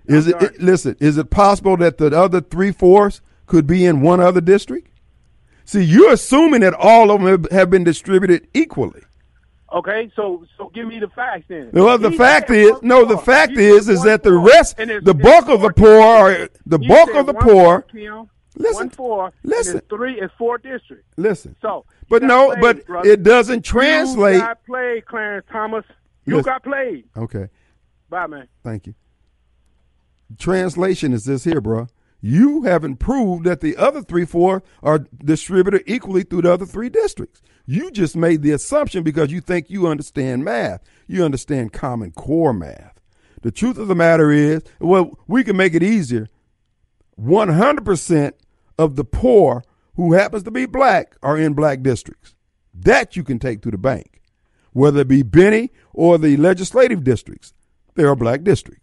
Is it, it listen, is it possible that the other three-fourths could be in one other district? See, you're assuming that all of them have, have been distributed equally. Okay, so so give me the facts then. Well, the He fact said is, one no, four. the fact He is, said is one that the four. rest, And there's- the there's bulk of four the poor are, districts. the He bulk said of the one poor, four, Kim, listen, one four, listen. and there's three and four districts. listen, So, you but got no, played, but brother. it doesn't translate. You got played, Clarence Thomas. You Listen. got played. Okay, Bye, man. thank you. Translation is this here, bro. You haven't proved that the other three, four are distributed equally through the other three districts. You just made the assumption because you think you understand math. You understand Common Core math. The truth of the matter is, well, we can make it easier. one hundred percent of the poor who happens to be black are in black districts. That you can take to the bank. Whether it be Benny or the legislative districts, they are black districts.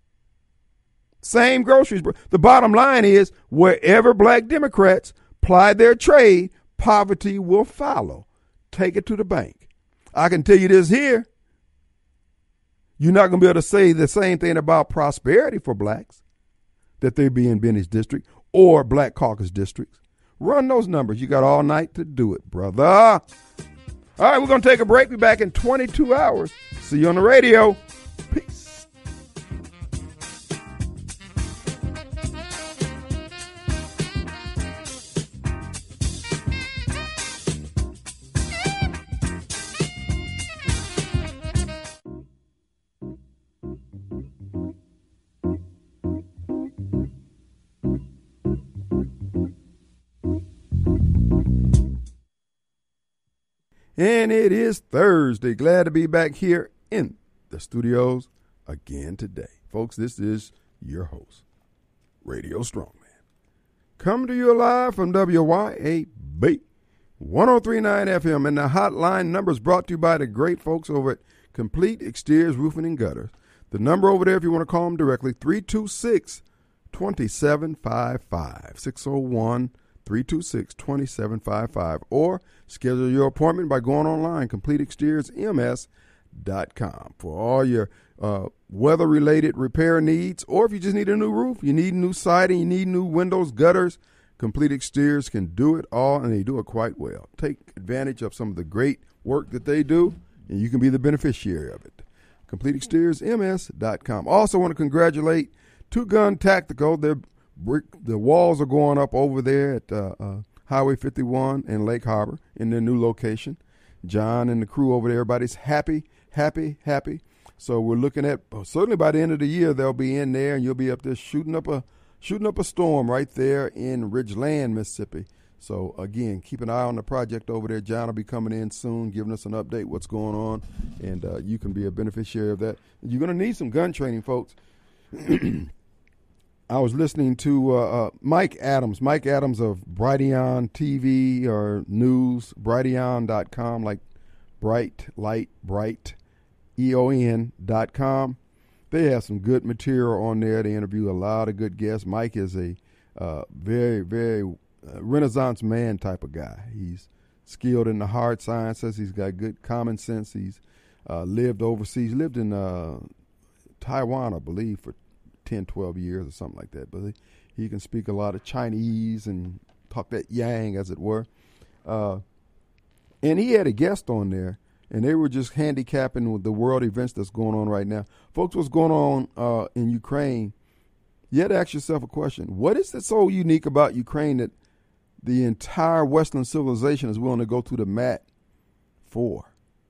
Same groceries. The bottom line is, wherever black Democrats ply their trade, poverty will follow. Take it to the bank. I can tell you this here. You're not going to be able to say the same thing about prosperity for blacks, that they be in Benny's district or Black Caucus districts. Run those numbers. You got all night to do it, brother. All right, we're going to take a break. Be back in twenty-two hours. See you on the radio. Peace. And it is Thursday. Glad to be back here in the studios again today. Folks, this is your host, Radio Strongman. Coming to you live from W Y A B one oh three point nine F M. And the hotline number is brought to you by the great folks over at Complete Exteriors Roofing and Gutters. The number over there, if you want to call them directly, three two six, two seven five five, six oh one, three two six, two seven five five, or schedule your appointment by going online, complete exteriors m s dot com, for all your uh, weather-related repair needs, or if you just need a new roof, you need new siding, you need new windows, gutters, Complete Exteriors can do it all, and they do it quite well. Take advantage of some of the great work that they do, and you can be the beneficiary of it. complete exteriors m s dot com. Also want to congratulate Two Gun Tactical. Their brick, the walls are going up over there at uh, uh, Highway fifty-one and Lake Harbor in their new location. John and the crew over there, everybody's happy, happy, happy. So we're looking at, well, certainly by the end of the year, they'll be in there, and you'll be up there shooting up a shooting up a storm right there in Ridgeland, Mississippi. So again, keep an eye on the project over there. John will be coming in soon, giving us an update what's going on, and uh, you can be a beneficiary of that. You're going to need some gun training, folks. I was listening to uh, uh, Mike Adams, Mike Adams of Brighteon T V or News, brighteon dot com, like bright, light, bright, E O N dot com. They have some good material on there. They interview a lot of good guests. Mike is a uh, very, very uh, Renaissance man type of guy. He's skilled in the hard sciences. He's got good common sense. He's uh, lived overseas, lived in uh, Taiwan, I believe, for ten, twelve years or something like that. But he, he can speak a lot of Chinese and talk that yang, as it were. Uh, and he had a guest on there, and they were just handicapping with the world events that's going on right now. Folks, what's going on uh, in Ukraine, you had to ask yourself a question. What is it so unique about Ukraine that the entire Western civilization is willing to go to the mat for?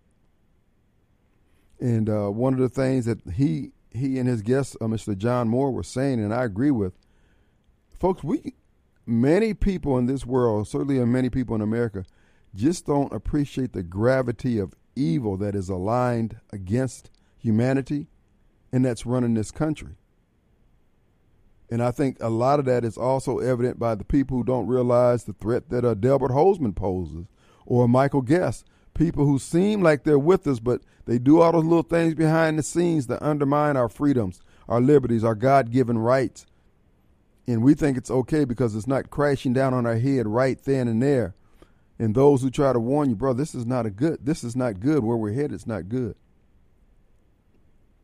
And uh, one of the things that he he and his guest, uh, Mister John Moore, were saying, and I agree with, folks, we many people in this world, certainly many people in America, just don't appreciate the gravity of evil that is aligned against humanity and that's running this country. And I think a lot of that is also evident by the people who don't realize the threat that uh, Delbert Hosemann poses, or Michael Guest, people who seem like they're with us, but they do all those little things behind the scenes that undermine our freedoms, our liberties, our God-given rights. And we think it's okay because it's not crashing down on our head right then and there. And those who try to warn you, bro, this is not a good, this is not good. Where we're headed, it's not good.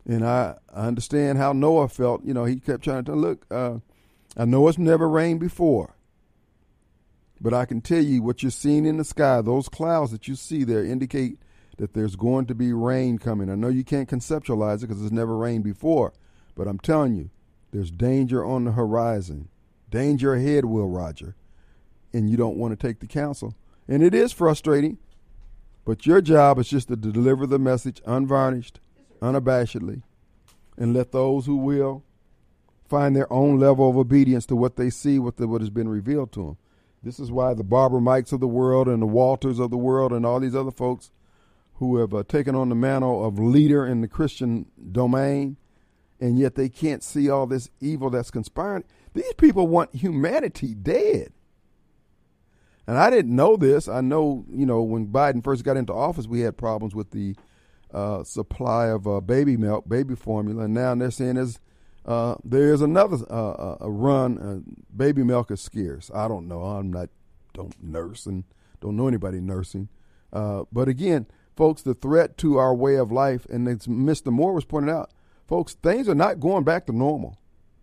And I, I understand how Noah felt. You know, he kept trying to look, uh, I know it's never rained before, but I can tell you what you're seeing in the sky, those clouds that you see there indicate that there's going to be rain coming. I know you can't conceptualize it because it's never rained before, but I'm telling you, there's danger on the horizon. Danger ahead, Will Roger. And you don't want to take the counsel. And it is frustrating, but your job is just to deliver the message unvarnished, unabashedly, and let those who will find their own level of obedience to what they see, what, the, what has been revealed to them. This is why the Barbara Mikes of the world and the Walters of the world and all these other folks who have uh, taken on the mantle of leader in the Christian domain, and yet they can't see all this evil that's conspiring. These people want humanity dead. And I didn't know this. I know, you know, when Biden first got into office, we had problems with the uh, supply of uh, baby milk, baby formula, and now they're saying there's, uh, there's another uh, a run. Uh, baby milk is scarce. I don't know. I'm not, don't nurse and don't know anybody nursing. Uh, but again, folks, the threat to our way of life, and as Mister Moore was pointing out, folks, things are not going back to normal.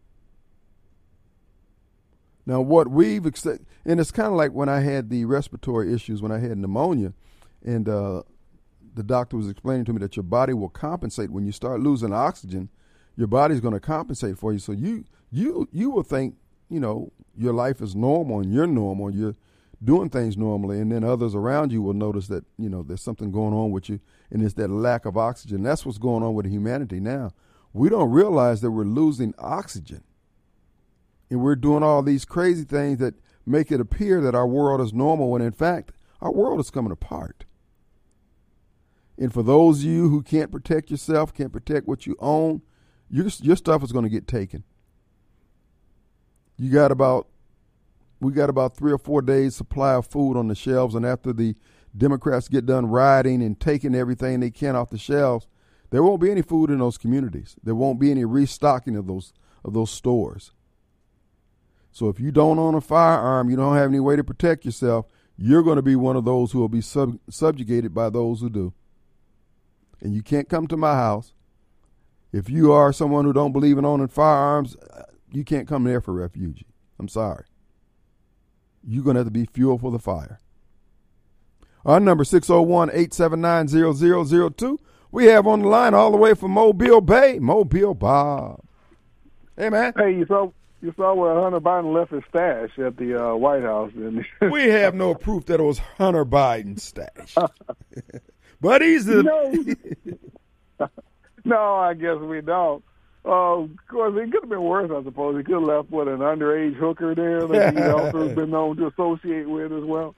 Now, what we've, and it's kind of like when I had the respiratory issues, when I had pneumonia, and uh, the doctor was explaining to me that your body will compensate when you start losing oxygen. Your body's going to compensate for you. So you you you will think, you know, your life is normal and you're normal, and you're doing things normally, and then others around you will notice that, you know, there's something going on with you, and it's that lack of oxygen. That's what's going on with humanity now. We don't realize that we're losing oxygen. And we're doing all these crazy things that make it appear that our world is normal when, in fact, our world is coming apart. And for those of you who can't protect yourself, can't protect what you own, your, your stuff is going to get taken. You got about, we got about three or four days supply of food on the shelves, and after the Democrats get done rioting and taking everything they can off the shelves, there won't be any food in those communities. There won't be any restocking of those of those stores. So if you don't own a firearm, you don't have any way to protect yourself, you're going to be one of those who will be sub- subjugated by those who do. And you can't come to my house. If you are someone who don't believe in owning firearms, you can't come there for refuge. I'm sorry. You're going to have to be fuel for the fire. Our number six oh one, eight seven nine, zero zero zero two. We have on the line all the way from Mobile Bay, Mobile Bob. Hey, man. Hey, you saw... You saw where Hunter Biden left his stash at the uh, White House, didn't you? We have no proof that it was Hunter Biden's stash. But he's the... No. No, I guess we don't. Uh, of course, it could have been worse, I suppose. He could have left, what, an underage hooker there that he also has been known to associate with as well.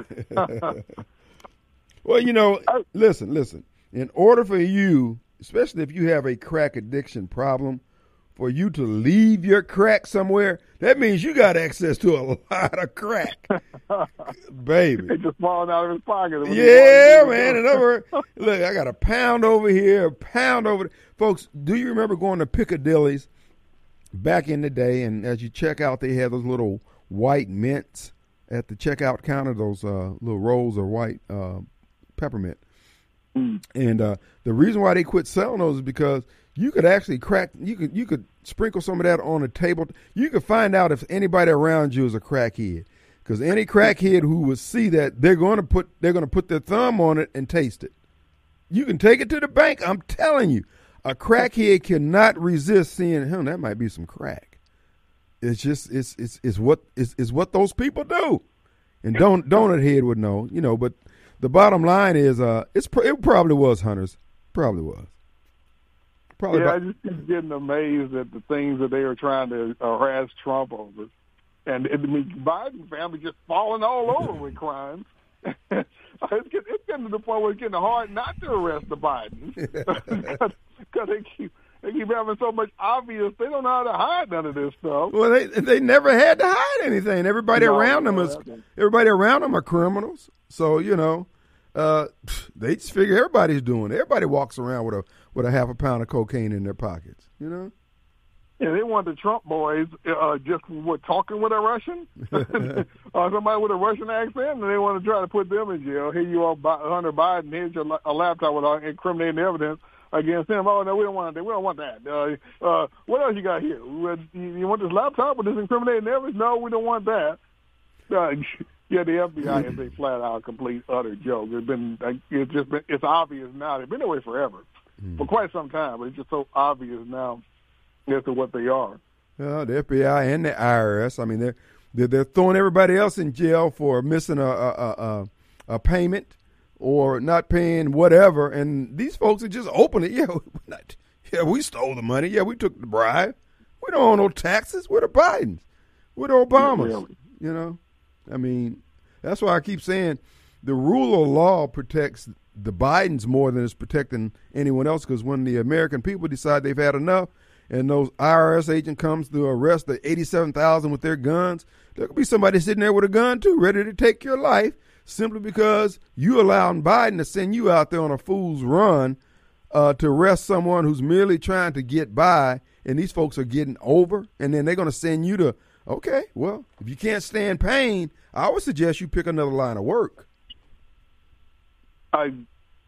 Well, you know, listen, listen. In order for you, especially if you have a crack addiction problem, for you to leave your crack somewhere, that means you got access to a lot of crack, baby. It's just falling out of his pocket. Yeah, man. In other words, look, I got a pound over here, a pound over there. Folks, do you remember going to Piccadilly's back in the day, and as you check out, they had those little white mints at the checkout counter, those uh, little rolls of white uh, peppermint. Mm. And uh, the reason why they quit selling those is because you could actually crack, you could you could sprinkle some of that on a table. You could find out if anybody around you is a crackhead, because any crackhead who would see that, they're going to put they're going to put their thumb on it and taste it. You can take it to the bank. I'm telling you, a crackhead cannot resist seeing, him. That might be some crack. It's just it's it's it's what it's, it's what those people do, and don't donut head would know, you know. But the bottom line is, uh, it's it probably was Hunter's, probably was. Probably yeah, about- I just keep getting amazed at the things that they are trying to harass Trump over. And it, I mean, Biden family just falling all over with crimes. it's, getting, it's getting to the point where it's getting hard not to arrest the Bidens because they keep they keep having so much obvious. They don't know how to hide none of this stuff. Well, they they never had to hide anything. Everybody No, around them no, is that's- everybody around them are criminals. So you know, uh, they just figure everybody's doing it. Everybody walks around with a with a half a pound of cocaine in their pockets. You know. Yeah, they want the Trump boys uh, just what, talking with a Russian or somebody with a Russian accent, and they want to try to put them in jail. Here you are, Hunter Biden. Here's your a laptop with incriminating evidence against him. Oh no, we don't want that. We don't want that. Uh, uh, what else you got here? You, you want this laptop with this incriminating evidence? No, we don't want that. Uh, yeah, the F B I is a flat out, complete, utter joke. It's been, it's just been, it's obvious now. They've been that way forever, mm. for quite some time. But it's just so obvious now as to what they are. Uh, the F B I and the I R S. I mean, they're they're, they're throwing everybody else in jail for missing a a, a a payment or not paying whatever, and these folks are just opening. Yeah, not, yeah, we stole the money. Yeah, we took the bribe. We don't owe no taxes. We're the Bidens. We're the Obamas. Yeah, you know, I mean, that's why I keep saying the rule of law protects the Bidens more than it's protecting anyone else. Because when the American people decide they've had enough, and those I R S agent comes to arrest the eighty-seven thousand with their guns, there could be somebody sitting there with a gun too, ready to take your life, simply because you allowed Biden to send you out there on a fool's run uh, to arrest someone who's merely trying to get by, and these folks are getting over, and then they're going to send you to, okay, well, if you can't stand pain, I would suggest you pick another line of work. I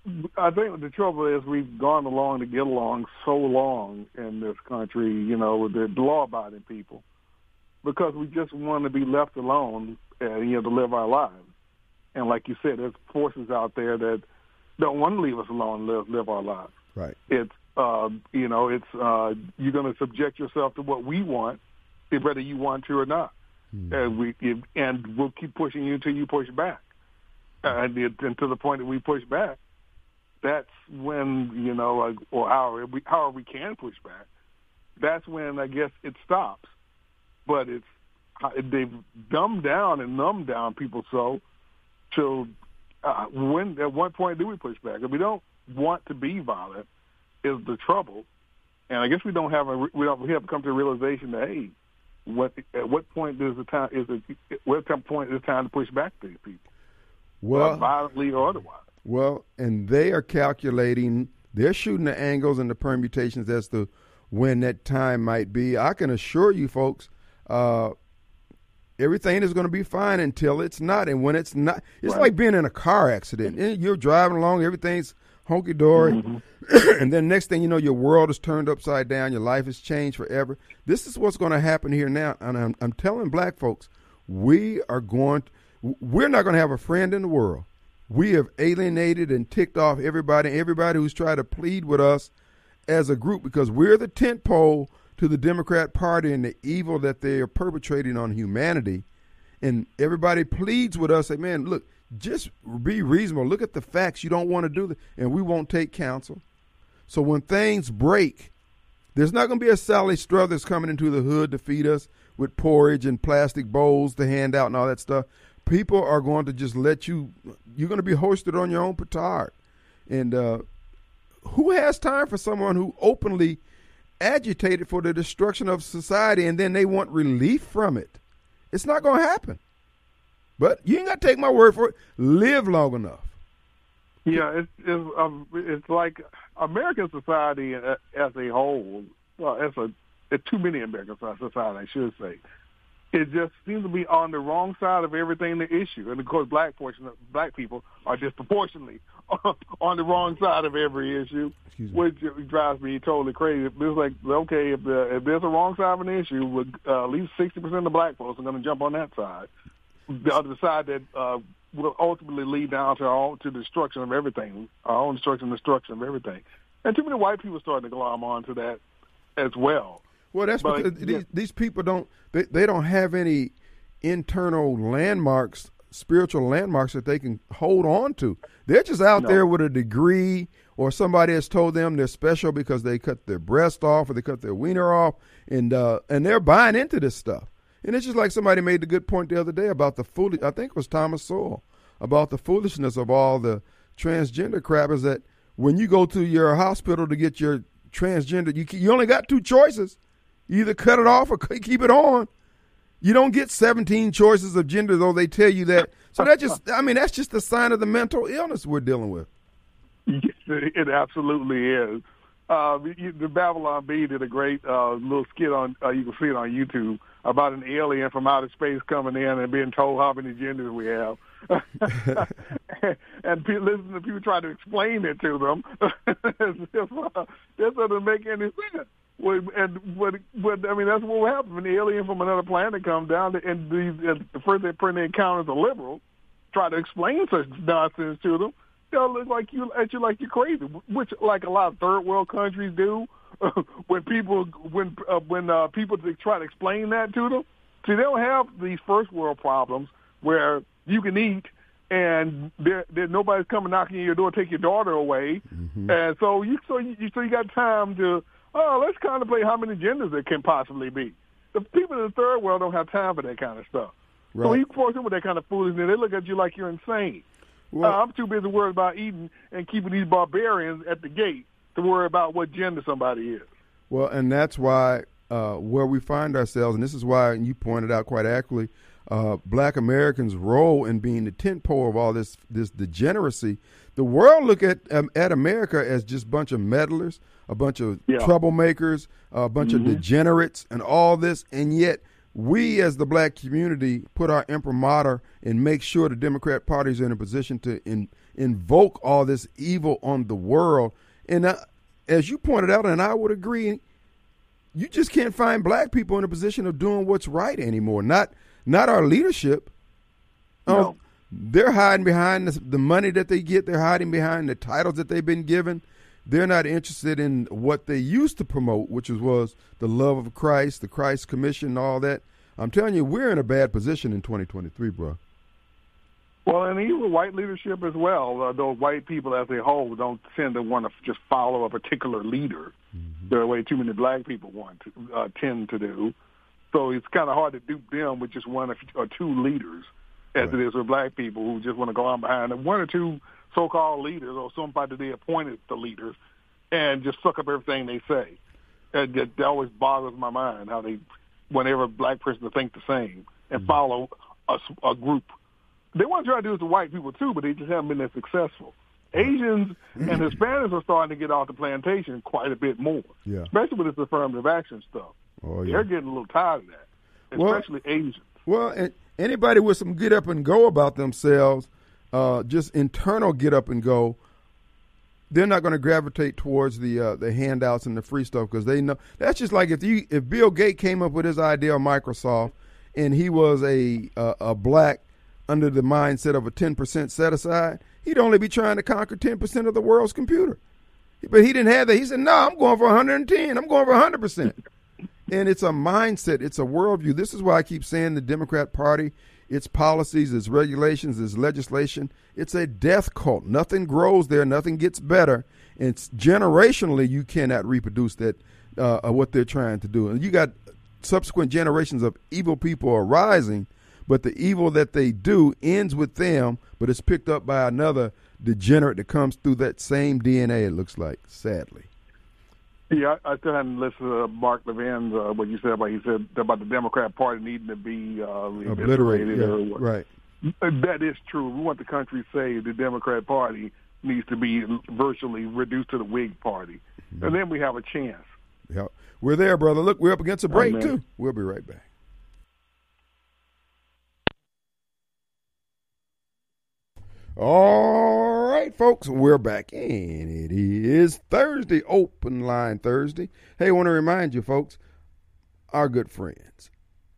I think the trouble is we've gone along to get along so long in this country, you know, with the law-abiding people, because we just want to be left alone and, you know, to live our lives. And like you said, there's forces out there that don't want to leave us alone and live, live our lives. Right. It's, uh, you know, it's uh, you're going to subject yourself to what we want, whether you want to or not. Mm-hmm. And, we, it, and we'll keep pushing you until you push back. And, it, and to the point that we push back, that's when, you know, like, or however we, however we can push back, that's when I guess it stops. But it's they've dumbed down and numbed down people so till uh, when at what point do we push back? If we don't want to be violent, is the trouble. And I guess we don't have a we don't we have come to a realization that hey, what at what point does the time is it what point is the time to push back to these people? Well, violently or otherwise. Well, and they are calculating, they're shooting the angles and the permutations as to when that time might be. I can assure you, folks, uh, everything is going to be fine until it's not. And when it's not, it's right. like being in a car accident. You're driving along, everything's hunky-dory, mm-hmm. and then next thing you know, your world is turned upside down, your life has changed forever. This is what's going to happen here now. And I'm, I'm telling black folks, we are going to, we're not going to have a friend in the world. We have alienated and ticked off everybody, everybody who's tried to plead with us as a group, because we're the tent pole to the Democrat Party and the evil that they are perpetrating on humanity. And everybody pleads with us, say, man, look, just be reasonable. Look at the facts. You don't want to do that, and we won't take counsel. So when things break, there's not going to be a Sally Struthers coming into the hood to feed us with porridge and plastic bowls to hand out and all that stuff. People are going to just let you, you're going to be hoisted on your own petard. And uh, who has time for someone who openly agitated for the destruction of society and then they want relief from it? It's not going to happen. But you ain't got to take my word for it. Live long enough. Yeah, it's it's, um, it's like American society as a whole, well, as a, it's too many American society, I should say. It just seems to be on the wrong side of everything the issue. And, of course, black portion of, black people are disproportionately on the wrong side of every issue, which drives me totally crazy. It's like, okay, if, the, if there's a wrong side of an issue, with, uh, at least sixty percent of black folks are going to jump on that side. The other side that uh, will ultimately lead down to our own, to the destruction of everything, our own destruction and destruction of everything. And too many white people starting to glom onto that as well. Well, that's but, because yeah. these, these people don't they, they don't have any internal landmarks, spiritual landmarks that they can hold on to. They're just out no. there with a degree, or somebody has told them they're special because they cut their breast off or they cut their wiener off, and uh, and they're buying into this stuff. And it's just like somebody made the good point the other day about the foolish, I think it was Thomas Sowell, about the foolishness of all the transgender crap, is that when you go to your hospital to get your transgender, you you only got two choices. You either cut it off or keep it on. You don't get seventeen choices of gender, though they tell you that. So that just, I mean, that's just a sign of the mental illness we're dealing with. It absolutely is. Uh, the Babylon Bee did a great uh, little skit on, uh, you can see it on YouTube, about an alien from outer space coming in and being told how many genders we have. and pe- listen to people try to explain it to them. That doesn't make any sense. Well, and what, what I mean, that's what will happen when the alien from another planet comes down, and the, and the first they they encounter a liberal, try to explain such nonsense to them. They'll look like you at you like you're crazy, which like a lot of third world countries do. when people when uh, when uh, people try to explain that to them, see, they don't have these first world problems where you can eat and there, there nobody's coming knocking on your door, take your daughter away, mm-hmm. and so you so you so you got time to oh let's contemplate how many genders there can possibly be. The people in the third world don't have time for that kind of stuff. Right. So you force them with that kind of foolishness, they look at you like you're insane. Well, uh, I'm too busy worried about eating and keeping these barbarians at the gate to worry about what gender somebody is. Well, and that's why uh, where we find ourselves, and this is why, and you pointed out quite accurately, uh, black Americans' role in being the tentpole of all this this degeneracy. The world look at um, at America as just a bunch of meddlers, a bunch of yeah. troublemakers, a bunch mm-hmm. of degenerates, and all this, and yet we as the black community put our imprimatur and make sure the Democrat Party is in a position to in, invoke all this evil on the world. And uh, as you pointed out, and I would agree, you just can't find black people in a position of doing what's right anymore. Not not our leadership. No. Um, they're hiding behind the, the money that they get. They're hiding behind the titles that they've been given. They're not interested in what they used to promote, which was, was the love of Christ, the Christ Commission, all that. I'm telling you, we're in a bad position in twenty twenty-three, bro. Well, and even white leadership as well. Uh, those white people as a whole don't tend to want to just follow a particular leader mm-hmm. the way too many black people want to uh, tend to do. So it's kind of hard to dupe them with just one or two leaders, as right. it is with black people who just want to go on behind them. One or two so-called leaders or somebody they appointed the leaders and just suck up everything they say. And that, that always boggles my mind how they want every black person to think the same and mm-hmm. follow a, a group. They want to try to do it to white people too, but they just haven't been as successful. Asians and Hispanics are starting to get off the plantation quite a bit more, yeah. especially with this affirmative action stuff. Oh, yeah. They're getting a little tired of that, especially well, Asians. Well, and anybody with some get up and go about themselves, uh, just internal get up and go, they're not going to gravitate towards the uh, the handouts and the free stuff because they know that's just like if you if Bill Gates came up with his idea of Microsoft and he was a a, a black under the mindset of a ten percent set aside, he'd only be trying to conquer ten percent of the world's computer. But he didn't have that. He said, no, I'm going for one hundred ten. I'm going for one hundred percent. And it's a mindset. It's a worldview. This is why I keep saying the Democrat Party, its policies, its regulations, its legislation, it's a death cult. Nothing grows there. Nothing gets better. And it's generationally, you cannot reproduce that, uh, what they're trying to do. And you got subsequent generations of evil people arising, but the evil that they do ends with them, but it's picked up by another degenerate that comes through that same D N A, it looks like, sadly. Yeah, I still hadn't listened to Mark Levin's, uh, what you said about, he said about the Democrat Party needing to be uh, obliterated. Yeah, or right. That is true. We want the country to say the Democrat Party needs to be virtually reduced to the Whig Party. Mm-hmm. And then we have a chance. Yeah, we're there, brother. Look, we're up against a break, Amen. too. We'll be right back. All right, folks, we're back, and it is Thursday, Open Line Thursday. Hey, I want to remind you, folks, our good friends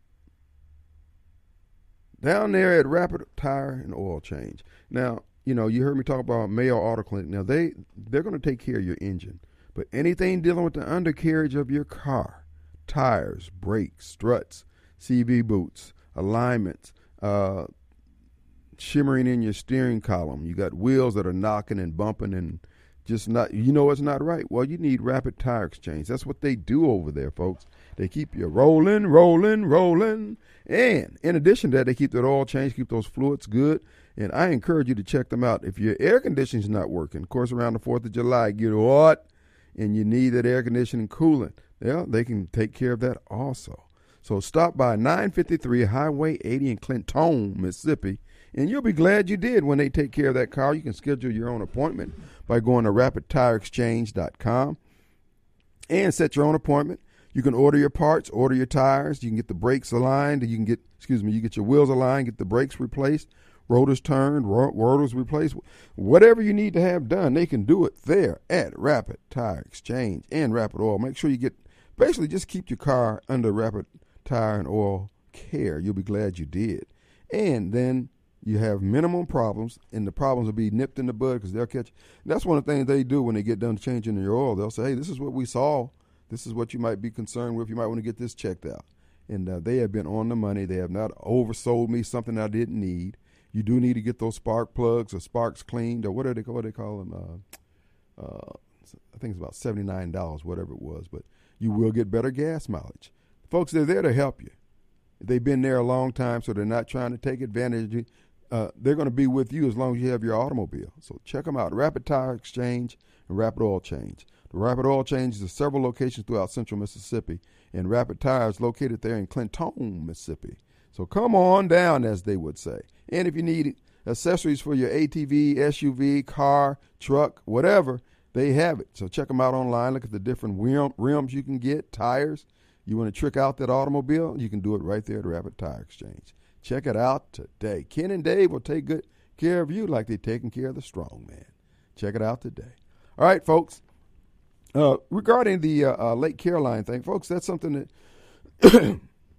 down there at Rapid Tire and Oil Change. Now, you know, you heard me talk about Mayo Auto Clinic. Now, they, they're going to take care of your engine, but anything dealing with the undercarriage of your car, tires, brakes, struts, C V boots, alignments, uh, shimmering in your steering column, you got wheels that are knocking and bumping and just not, you know, it's not right. Well, you need Rapid Tire Exchange. That's what they do over there, folks. They keep you rolling, rolling, rolling. And in addition to that, they keep that oil change, keep those fluids good. And I encourage you to check them out. If your air conditioning is not working, of course, around the fourth of July, get what? And you need that air conditioning coolant. Yeah, they can take care of that also. So stop by nine fifty-three Highway eighty in Clinton, Mississippi, and you'll be glad you did when they take care of that car. You can schedule your own appointment by going to rapid tire exchange dot com and set your own appointment. You can order your parts, order your tires. You can get the brakes aligned. You can get, excuse me, you get your wheels aligned, get the brakes replaced rotors turned, ro- rotors replaced, whatever you need to have done, they can do it there at Rapid Tire Exchange and Rapid Oil. Make sure you get, basically just keep your car under Rapid Tire and Oil care. You'll be glad you did. And then you have minimum problems, and the problems will be nipped in the bud because they'll catch. That's one of the things they do when they get done changing your oil. They'll say, hey, this is what we saw. This is what you might be concerned with. You might want to get this checked out. And uh, they have been on the money. They have not oversold me something I didn't need. You do need to get those spark plugs or sparks cleaned, or what are they, what do they call them? Uh, uh, I think it's about seventy-nine dollars, whatever it was. But you will get better gas mileage. Folks, they're there to help you. They've been there a long time, so they're not trying to take advantage of you. Uh, they're going to be with you as long as you have your automobile. So check them out, Rapid Tire Exchange and Rapid Oil Change. The Rapid Oil Change is several locations throughout central Mississippi, and Rapid Tire is located there in Clinton, Mississippi. So come on down, as they would say. And if you need accessories for your A T V, S U V, car, truck, whatever, they have it. So check them out online. Look at the different rim, rims you can get, tires. You want to trick out that automobile, you can do it right there at Rapid Tire Exchange. Check it out today. Ken and Dave will take good care of you like they're taking care of the strong man. Check it out today. All right, folks. Uh, regarding the uh, uh, Lake Caroline thing, folks, that's something that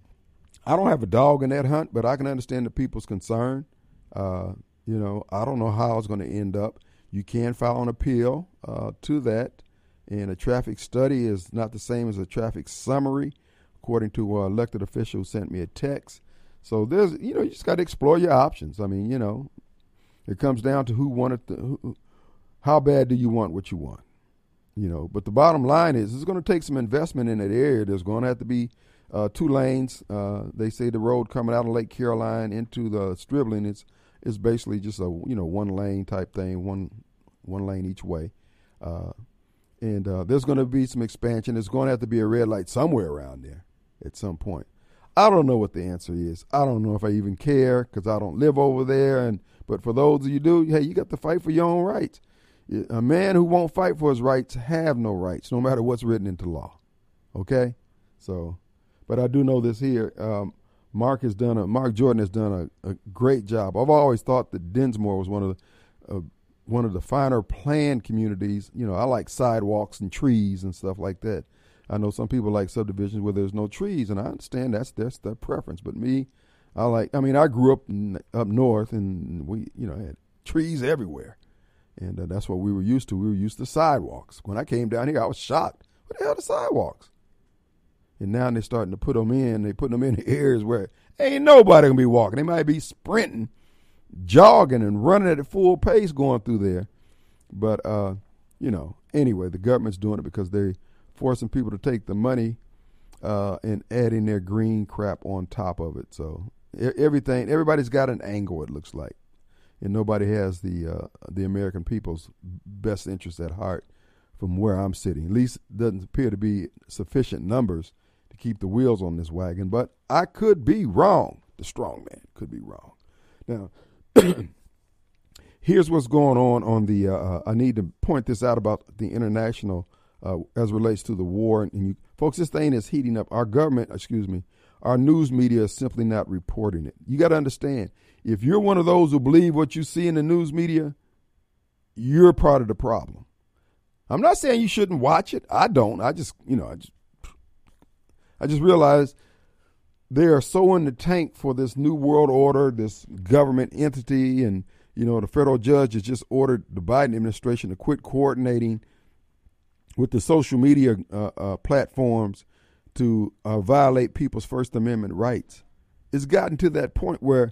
I don't have a dog in that hunt, but I can understand the people's concern. Uh, you know, I don't know how it's going to end up. You can file an appeal uh, to that, and a traffic study is not the same as a traffic summary, according to an elected official who sent me a text. So there's, you know, you just got to explore your options. I mean, you know, it comes down to who wanted to, who, how bad do you want what you want, you know. But the bottom line is, it's going to take some investment in that area. There's going to have to be uh, two lanes. Uh, they say the road coming out of Lake Caroline into the Stribling is is basically just a, you know, one lane type thing, one one lane each way. Uh, and uh, there's going to be some expansion. There's going to have to be a red light somewhere around there at some point. I don't know what the answer is. I don't know if I even care because I don't live over there. And but for those of you who do, hey, you got to fight for your own rights. A man who won't fight for his rights have no rights, no matter what's written into law. Okay? So, but I do know this here. Um, Mark has done a, Mark Jordan has done a, a great job. I've always thought that Dinsmore was one of the, uh, one of the finer planned communities. You know, I like sidewalks and trees and stuff like that. I know some people like subdivisions where there's no trees, and I understand that's that's their preference. But me, I like. I mean, I grew up in, up north, and we, you know, had trees everywhere, and uh, that's what we were used to. We were used to sidewalks. When I came down here, I was shocked. What the hell are the sidewalks? And now they're starting to put them in. They putting them in the areas where ain't nobody gonna be walking. They might be sprinting, jogging, and running at a full pace going through there. But uh, you know, anyway, the government's doing it because they. Forcing people to take the money uh, and adding their green crap on top of it. So everything, everybody's got an angle, it looks like, and nobody has the uh, the American people's best interest at heart. From where I'm sitting, at least it doesn't appear to be sufficient numbers to keep the wheels on this wagon. But I could be wrong. The strong man could be wrong. Now, here's what's going on on the. Uh, I need to point this out about the international. Uh, as relates to the war. And you, folks, this thing is heating up. Our government, excuse me, our news media is simply not reporting it. You got to understand, if you're one of those who believe what you see in the news media, you're part of the problem. I'm not saying you shouldn't watch it. I don't. I just, you know, I just, I just realized they are so in the tank for this new world order, this government entity. And, you know, the federal judge has just ordered the Biden administration to quit coordinating with the social media uh, uh, platforms to uh, violate people's First Amendment rights. It's gotten to that point where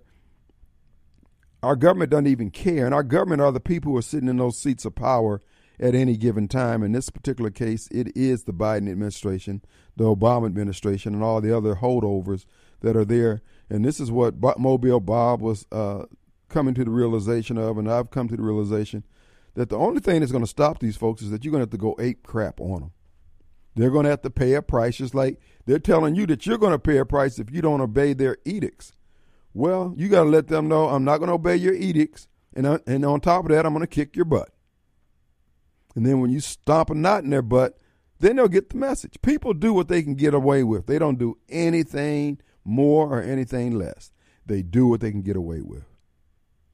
our government doesn't even care, and our government are the people who are sitting in those seats of power at any given time. In this particular case, it is the Biden administration, the Obama administration, and all the other holdovers that are there. And this is what Bo- Mobile Bob was uh, coming to the realization of, and I've come to the realization that the only thing that's going to stop these folks is that you're going to have to go ape crap on them. They're going to have to pay a price, just like they're telling you that you're going to pay a price if you don't obey their edicts. Well, you got to let them know, I'm not going to obey your edicts, and, uh, and on top of that, I'm going to kick your butt. And then when you stomp a knot in their butt, then they'll get the message. People do what they can get away with. They don't do anything more or anything less. They do what they can get away with.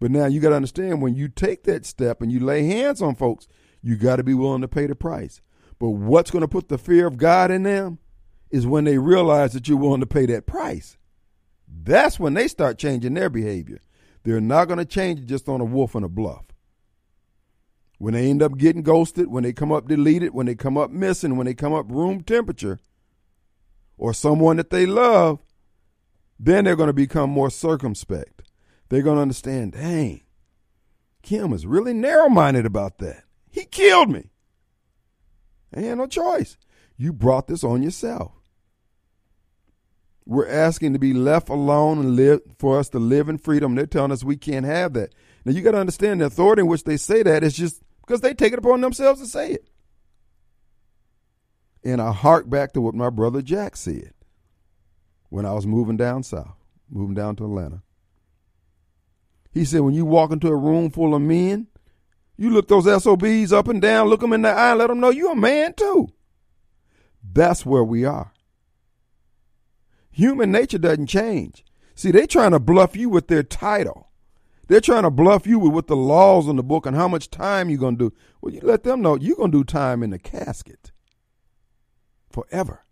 But now you got to understand, when you take that step and you lay hands on folks, you got to be willing to pay the price. But what's going to put the fear of God in them is when they realize that you're willing to pay that price. That's when they start changing their behavior. They're not going to change it just on a wolf and a bluff. When they end up getting ghosted, when they come up deleted, when they come up missing, when they come up room temperature, or someone that they love, then they're going to become more circumspect. They're going to understand, dang, Kim is really narrow-minded about that. He killed me. I had no choice. You brought this on yourself. We're asking to be left alone and live for us to live in freedom. They're telling us we can't have that. Now, you got to understand the authority in which they say that is just because they take it upon themselves to say it. And I hark back to what my brother Jack said when I was moving down south, moving down to Atlanta. He said, when you walk into a room full of men, you look those S O Bs up and down, look them in the eye, let them know you're a man too. That's where we are. Human nature doesn't change. See, they're trying to bluff you with their title. They're trying to bluff you with what the laws in the book and how much time you're going to do. Well, you let them know you're going to do time in the casket forever.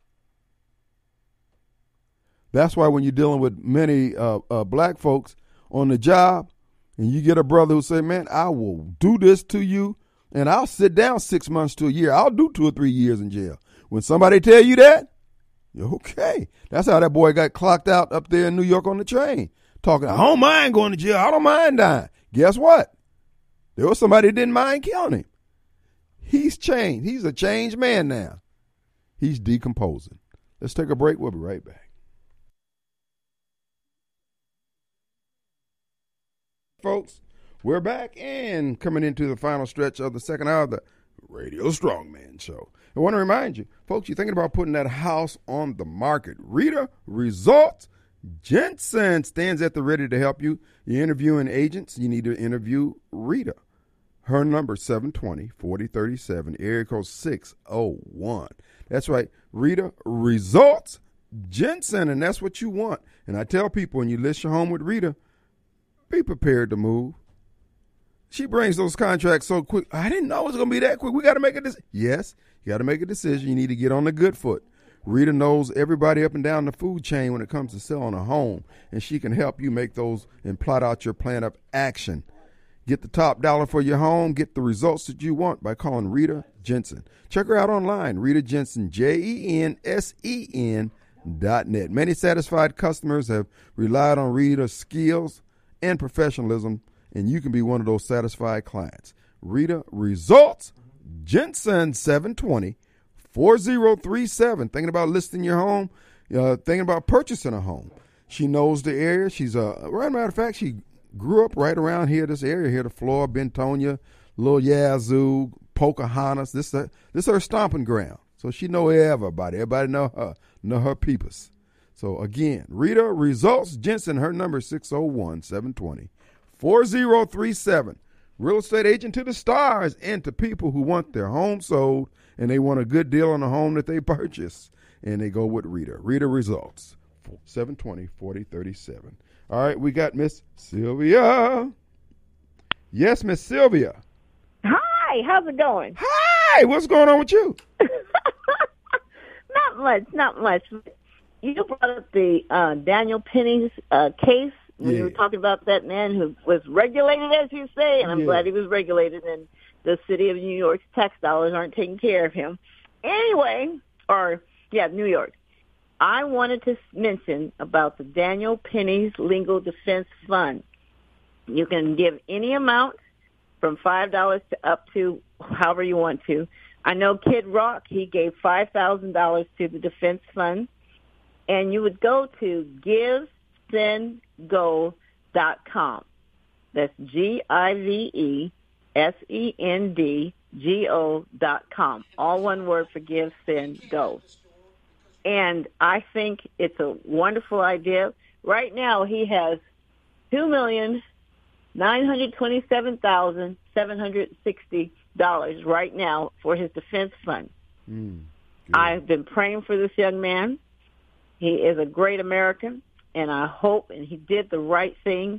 That's why when you're dealing with many uh, uh, black folks on the job and you get a brother who say, man, I will do this to you and I'll sit down six months to a year. I'll do two or three years in jail. When somebody tell you that, you're okay. That's how that boy got clocked out up there in New York on the train. Talking, I don't mind going to jail. I don't mind dying. Guess what? There was somebody that didn't mind killing him. He's changed. He's a changed man now. He's decomposing. Let's take a break. We'll be right back. Folks, we're back and coming into the final stretch of the second hour of the Radio Strongman Show. I want to remind you, folks, you're thinking about putting that house on the market. Rita Results Jensen stands at the ready to help you. You're interviewing agents. You need to interview Rita. Her number is seven two zero, four zero three seven, area code six oh one. That's right, Rita Results Jensen, and that's what you want. And I tell people, when you list your home with Rita, be prepared to move. She brings those contracts so quick. I didn't know it was going to be that quick. We got to make a decision. Yes, you got to make a decision. You need to get on the good foot. Rita knows everybody up and down the food chain when it comes to selling a home, and she can help you make those and plot out your plan of action. Get the top dollar for your home. Get the results that you want by calling Rita Jensen. Check her out online, Rita Jensen, J E N S E N dot net. Many satisfied customers have relied on Rita's skills and professionalism, and you can be one of those satisfied clients. Rita Results Jensen, seven two zero, four zero three seven. Thinking about listing your home, uh, thinking about purchasing a home. She knows the area. She's a, uh, right matter of fact, she grew up right around here, this area here, the Flora, Bentonia, Little Yazoo, Pocahontas. This, uh, this is her stomping ground. So she know everybody. Everybody know her, know her peepers. So again, Rita Results Jensen, her number is six oh one, seven two zero, four zero three seven. Real estate agent to the stars and to people who want their home sold and they want a good deal on the home that they purchase. And they go with Rita. Rita Results, seven two zero, four zero three seven. All right, we got Miss Sylvia. Yes, Miss Sylvia. Hi, how's it going? Hi, what's going on with you? Not much, not much. You brought up the uh, Daniel Penny's uh, case when yeah. you were talking about that man who was regulated, as you say, and I'm yeah. glad he was regulated, and the city of New York's tax dollars aren't taking care of him. Anyway, or, yeah, New York. I wanted to mention about the Daniel Penny's Legal Defense Fund. You can give any amount from five dollars to up to however you want to. I know Kid Rock, he gave five thousand dollars to the defense fund. And you would go to give send go dot com. That's G I V E S E N D G O dot com. All one word for Give, Send, Go. And I think it's a wonderful idea. Right now he has two million nine hundred twenty-seven thousand seven hundred sixty dollars right now for his defense fund. Mm, I've been praying for this young man. He is a great American, and I hope, and he did the right thing,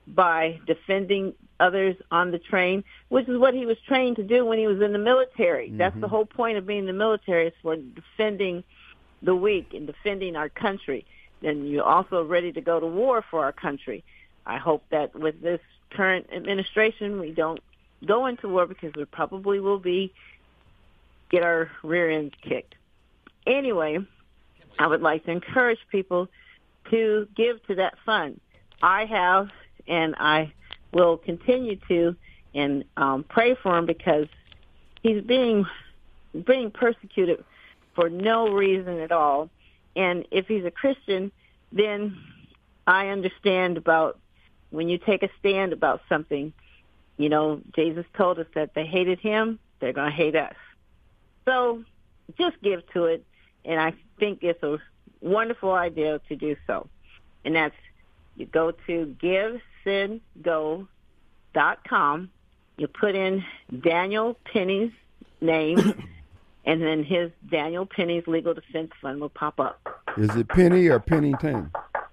by defending others on the train, which is what he was trained to do when he was in the military. Mm-hmm. That's the whole point of being in the military, is for defending the weak and defending our country. And you're also ready to go to war for our country. I hope that with this current administration, we don't go into war, because we probably will be get our rear ends kicked. Anyway, I would like to encourage people to give to that fund. I have, and I will continue to, and um, pray for him, because he's being being persecuted for no reason at all. And if he's a Christian, then I understand about when you take a stand about something. You know, Jesus told us that they hated him, they're going to hate us. So just give to it, and I think it's a wonderful idea to do so. And that's, you go to give send go dot com, you put in Daniel Penny's name, and then his Daniel Penny's Legal Defense Fund will pop up. Is it Penny or Pennington?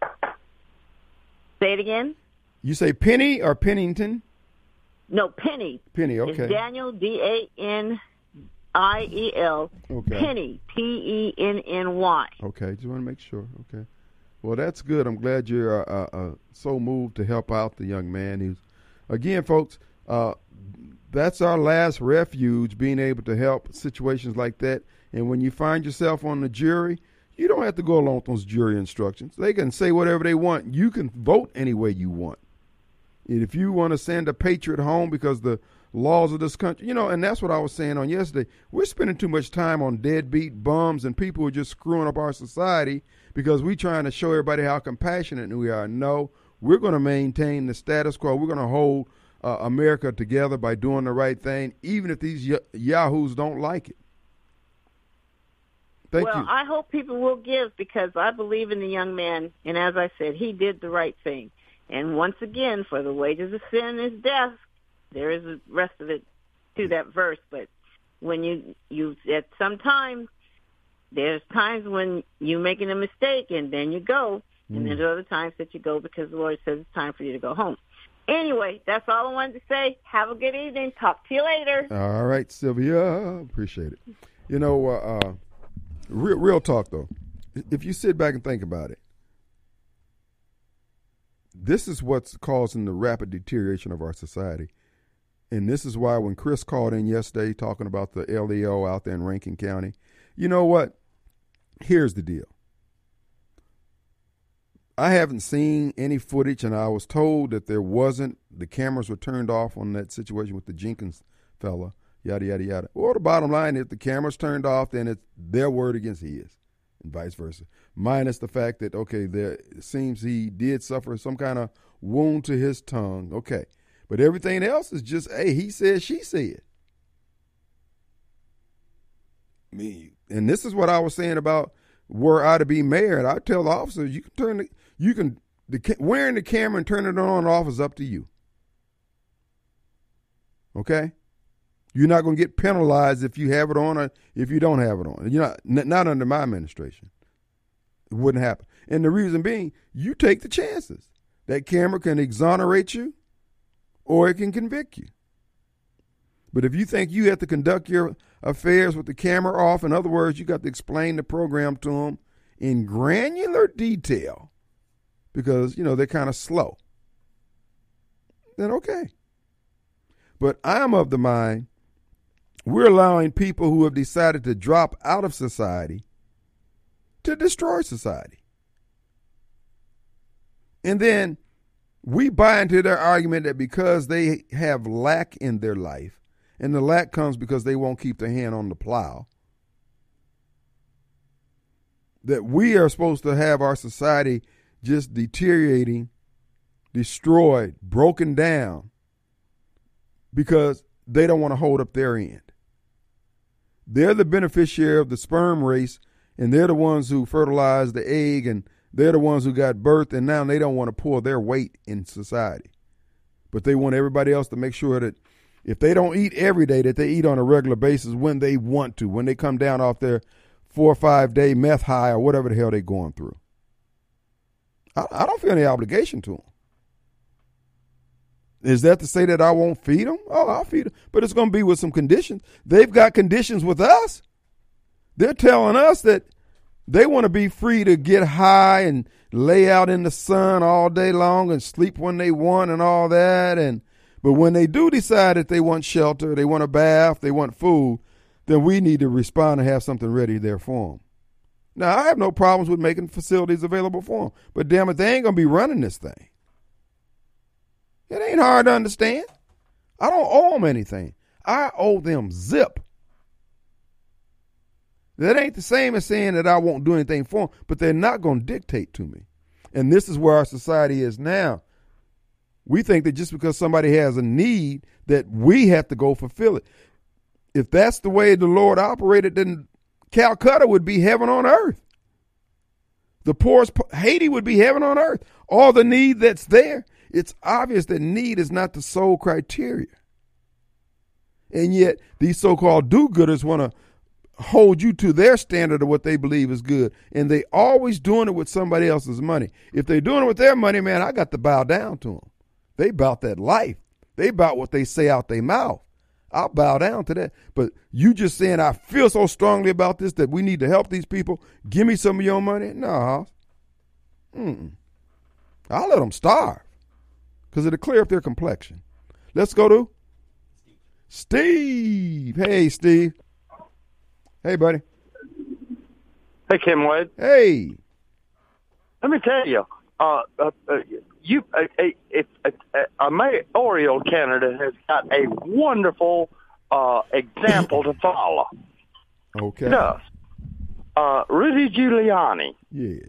Say it again? You say Penny or Pennington? No, Penny. Penny, okay. It's Daniel, D A N I E L, okay. Penny, P E N N Y. Okay, just want to make sure. Okay. Well, that's good. I'm glad you're uh, uh, so moved to help out the young man. He's, again, folks, uh, that's our last refuge, being able to help situations like that. And when you find yourself on the jury, you don't have to go along with those jury instructions. They can say whatever they want. You can vote any way you want. And if you want to send a patriot home because the laws of this country, you know, and that's what I was saying on yesterday. We're spending too much time on deadbeat bums and people who are just screwing up our society because we're trying to show everybody how compassionate we are. No, we're going to maintain the status quo. We're going to hold uh, America together by doing the right thing, even if these y- yahoos don't like it. Thank well, you. I hope people will give, because I believe in the young man, and as I said, he did the right thing. And once again, for the wages of sin is death. There is the rest of it to that verse, but when you, you at some time, there's times when you're making a mistake and then you go, and Mm. there's other times that you go because the Lord says it's time for you to go home. Anyway, that's all I wanted to say. Have a good evening. Talk to you later. All right, Sylvia. Appreciate it. You know, uh, uh, real, real talk, though. If you sit back and think about it, this is what's causing the rapid deterioration of our society. And this is why when Chris called in yesterday talking about the L E O out there in Rankin County, you know what? Here's the deal. I haven't seen any footage, and I was told that there wasn't. The cameras were turned off on that situation with the Jenkins fella, yada, yada, yada. Well, the bottom line, if the camera's turned off, then it's their word against his, and vice versa. Minus the fact that, okay, there it seems he did suffer some kind of wound to his tongue. Okay. But everything else is just, hey, he said, she said. Me. And this is what I was saying about were I to be mayor. And I tell the officers, you can turn the, you can, the, wearing the camera and turn it on and off is up to you. Okay? You're not going to get penalized if you have it on or if you don't have it on. You're not, n- not under my administration. It wouldn't happen. And the reason being, you take the chances. That camera can exonerate you, or it can convict you. But if you think you have to conduct your affairs with the camera off, in other words, you got to explain the program to them in granular detail because, you know, they're kind of slow, then okay. But I'm of the mind we're allowing people who have decided to drop out of society to destroy society. And then we buy into their argument that because they have lack in their life, and the lack comes because they won't keep their hand on the plow, that we are supposed to have our society just deteriorating, destroyed, broken down, because they don't want to hold up their end. They're the beneficiary of the sperm race, and they're the ones who fertilized the egg, and they're the ones who got birthed, and now they don't want to pull their weight in society. But they want everybody else to make sure that if they don't eat every day, that they eat on a regular basis when they want to, when they come down off their four or five day meth high or whatever the hell they're going through. I, I don't feel any obligation to them. Is that to say that I won't feed them? Oh, I'll feed them. But it's going to be with some conditions. They've got conditions with us. They're telling us that they want to be free to get high and lay out in the sun all day long and sleep when they want and all that. And but when they do decide that they want shelter, they want a bath, they want food, then we need to respond and have something ready there for them. Now, I have no problems with making facilities available for them. But damn it, they ain't going to be running this thing. It ain't hard to understand. I don't owe them anything. I owe them zip. That ain't the same as saying that I won't do anything for them, but they're not going to dictate to me. And this is where our society is now. We think that just because somebody has a need that we have to go fulfill it. If that's the way the Lord operated, then Calcutta would be heaven on earth. The poorest, Haiti would be heaven on earth. All the need that's there. It's obvious that need is not the sole criteria. And yet these so-called do-gooders want to hold you to their standard of what they believe is good. And they always doing it with somebody else's money. If they're doing it with their money, man, I got to bow down to them. They about that life. They about what they say out their mouth. I'll bow down to that. But you just saying, I feel so strongly about this that we need to help these people. Give me some of your money. No. Mm-mm. I'll let them starve because it'll clear up their complexion. Let's go to Steve. Hey, Steve. Hey, buddy. Hey, Kim Wade. Hey. Let me tell you, uh, uh, uh, you a, a, a, a, a mayoral candidate has got a wonderful uh, example to follow. Okay. Does uh, Rudy Giuliani? Yes.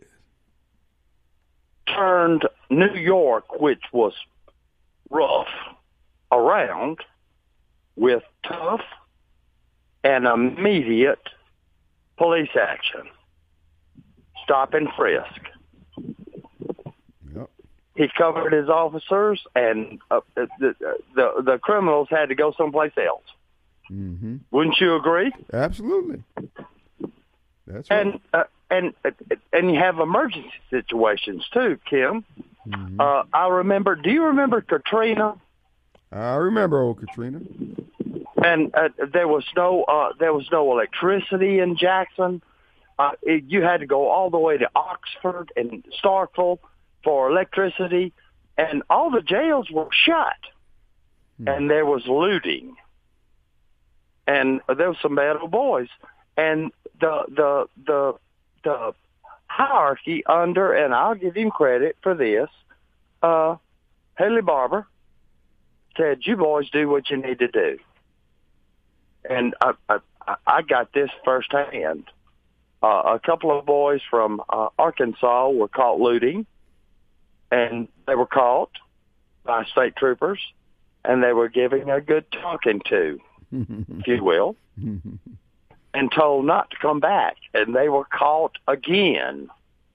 Turned New York, which was rough, around with tough and immediate police action. Stop and frisk. Yep. He covered his officers, and uh, the, the the criminals had to go someplace else. Mm-hmm. Wouldn't you agree? Absolutely. That's right. And uh, and and you have emergency situations too, Kim. Mm-hmm. Uh, I remember. Do you remember Katrina? I remember old Katrina. And uh, there was no uh, there was no electricity in Jackson. Uh, it, you had to go all the way to Oxford and Starkville for electricity, and all the jails were shut. Hmm. And there was looting, and there was some bad old boys, and the the the the hierarchy under, and I'll give him credit for this. Uh, Haley Barbour said, "You boys do what you need to do." And I, I, I got this firsthand. Uh, a couple of boys from uh, Arkansas were caught looting, and they were caught by state troopers, and they were giving a good talking to, if you will, and told not to come back. And they were caught again.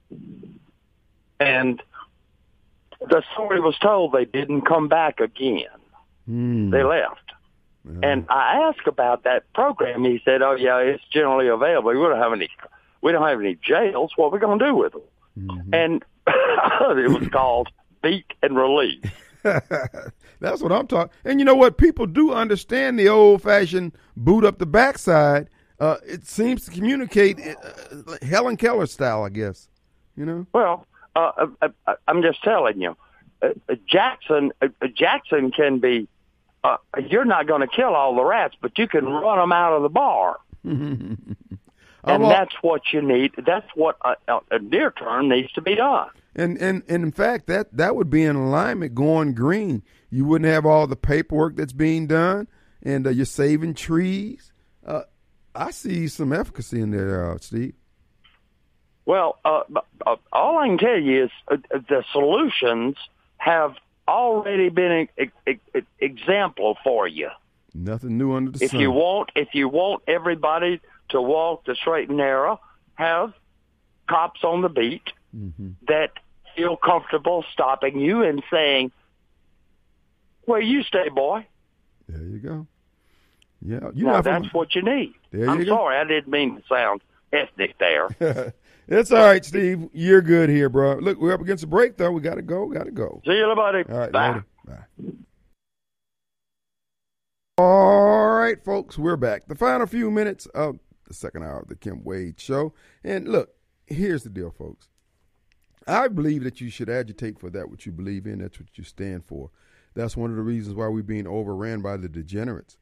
And the story was told they didn't come back again. Mm. They left. Yeah. And I asked about that program. He said, "Oh yeah, it's generally available. We don't have any, we don't have any jails. What are we going to do with them?" Mm-hmm. And it was called Beat and Release. That's what I'm talking. And you know what? People do understand the old-fashioned boot up the backside. Uh, it seems to communicate uh, Helen Keller style, I guess. You know. Well, uh, I, I'm just telling you, uh, Jackson, uh, Jackson can be. Uh, you're not going to kill all the rats, but you can run them out of the bar. And all, that's what you need. That's what a, a near term needs to be done. And, and and in fact, that, that would be in alignment going green. You wouldn't have all the paperwork that's being done, and uh, you're saving trees. Uh, I see some efficacy in there, uh, Steve. Well, uh, uh, all I can tell you is uh, the solutions have already been an e- e- example for you. Nothing new under the if sun. You want, if you want everybody to walk the straight and narrow, have cops on the beat mm-hmm. that feel comfortable stopping you and saying, "Where you stay, boy." There you go. Yeah, you now that's from... what you need. There I'm you sorry, go. I didn't mean to sound ethnic there. It's all right, Steve. You're good here, bro. Look, we're up against a break, though. We got to go. Got to go. See you, buddy. All right, Bye. Later. Bye. All right, folks, we're back. The final few minutes of the second hour of the Kim Wade Show. And look, here's the deal, folks. I believe that you should agitate for that what you believe in. That's what you stand for. That's one of the reasons why we're being overran by the degenerates.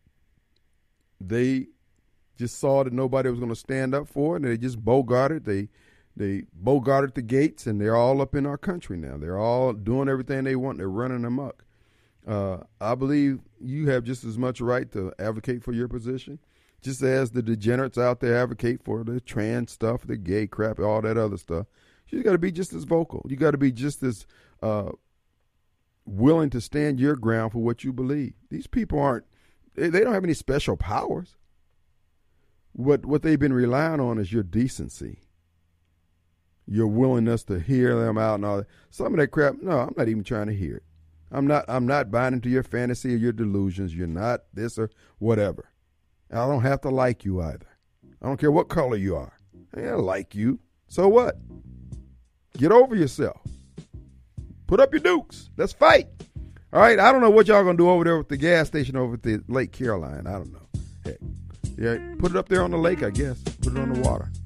They just saw that nobody was going to stand up for it, and they just bogarted. They they bogarted the gates, and they're all up in our country now. They're all doing everything they want. They're running amok. Uh, I believe you have just as much right to advocate for your position, just as the degenerates out there advocate for the trans stuff, the gay crap, all that other stuff. You got to be just as vocal. You got to be just as uh, willing to stand your ground for what you believe. These people aren't, they, they don't have any special powers. What what they've been relying on is your decency, your willingness to hear them out and all that. Some of that crap, no, I'm not even trying to hear it. I'm not I'm not buying into your fantasy or your delusions. You're not this or whatever. And I don't have to like you either. I don't care what color you are. I don't like you. So what? Get over yourself. Put up your dukes. Let's fight. All right. I don't know what y'all going to do over there with the gas station over at the Lake Caroline. I don't know. Heck. Yeah. Put it up there on the lake, I guess. Put it on the water.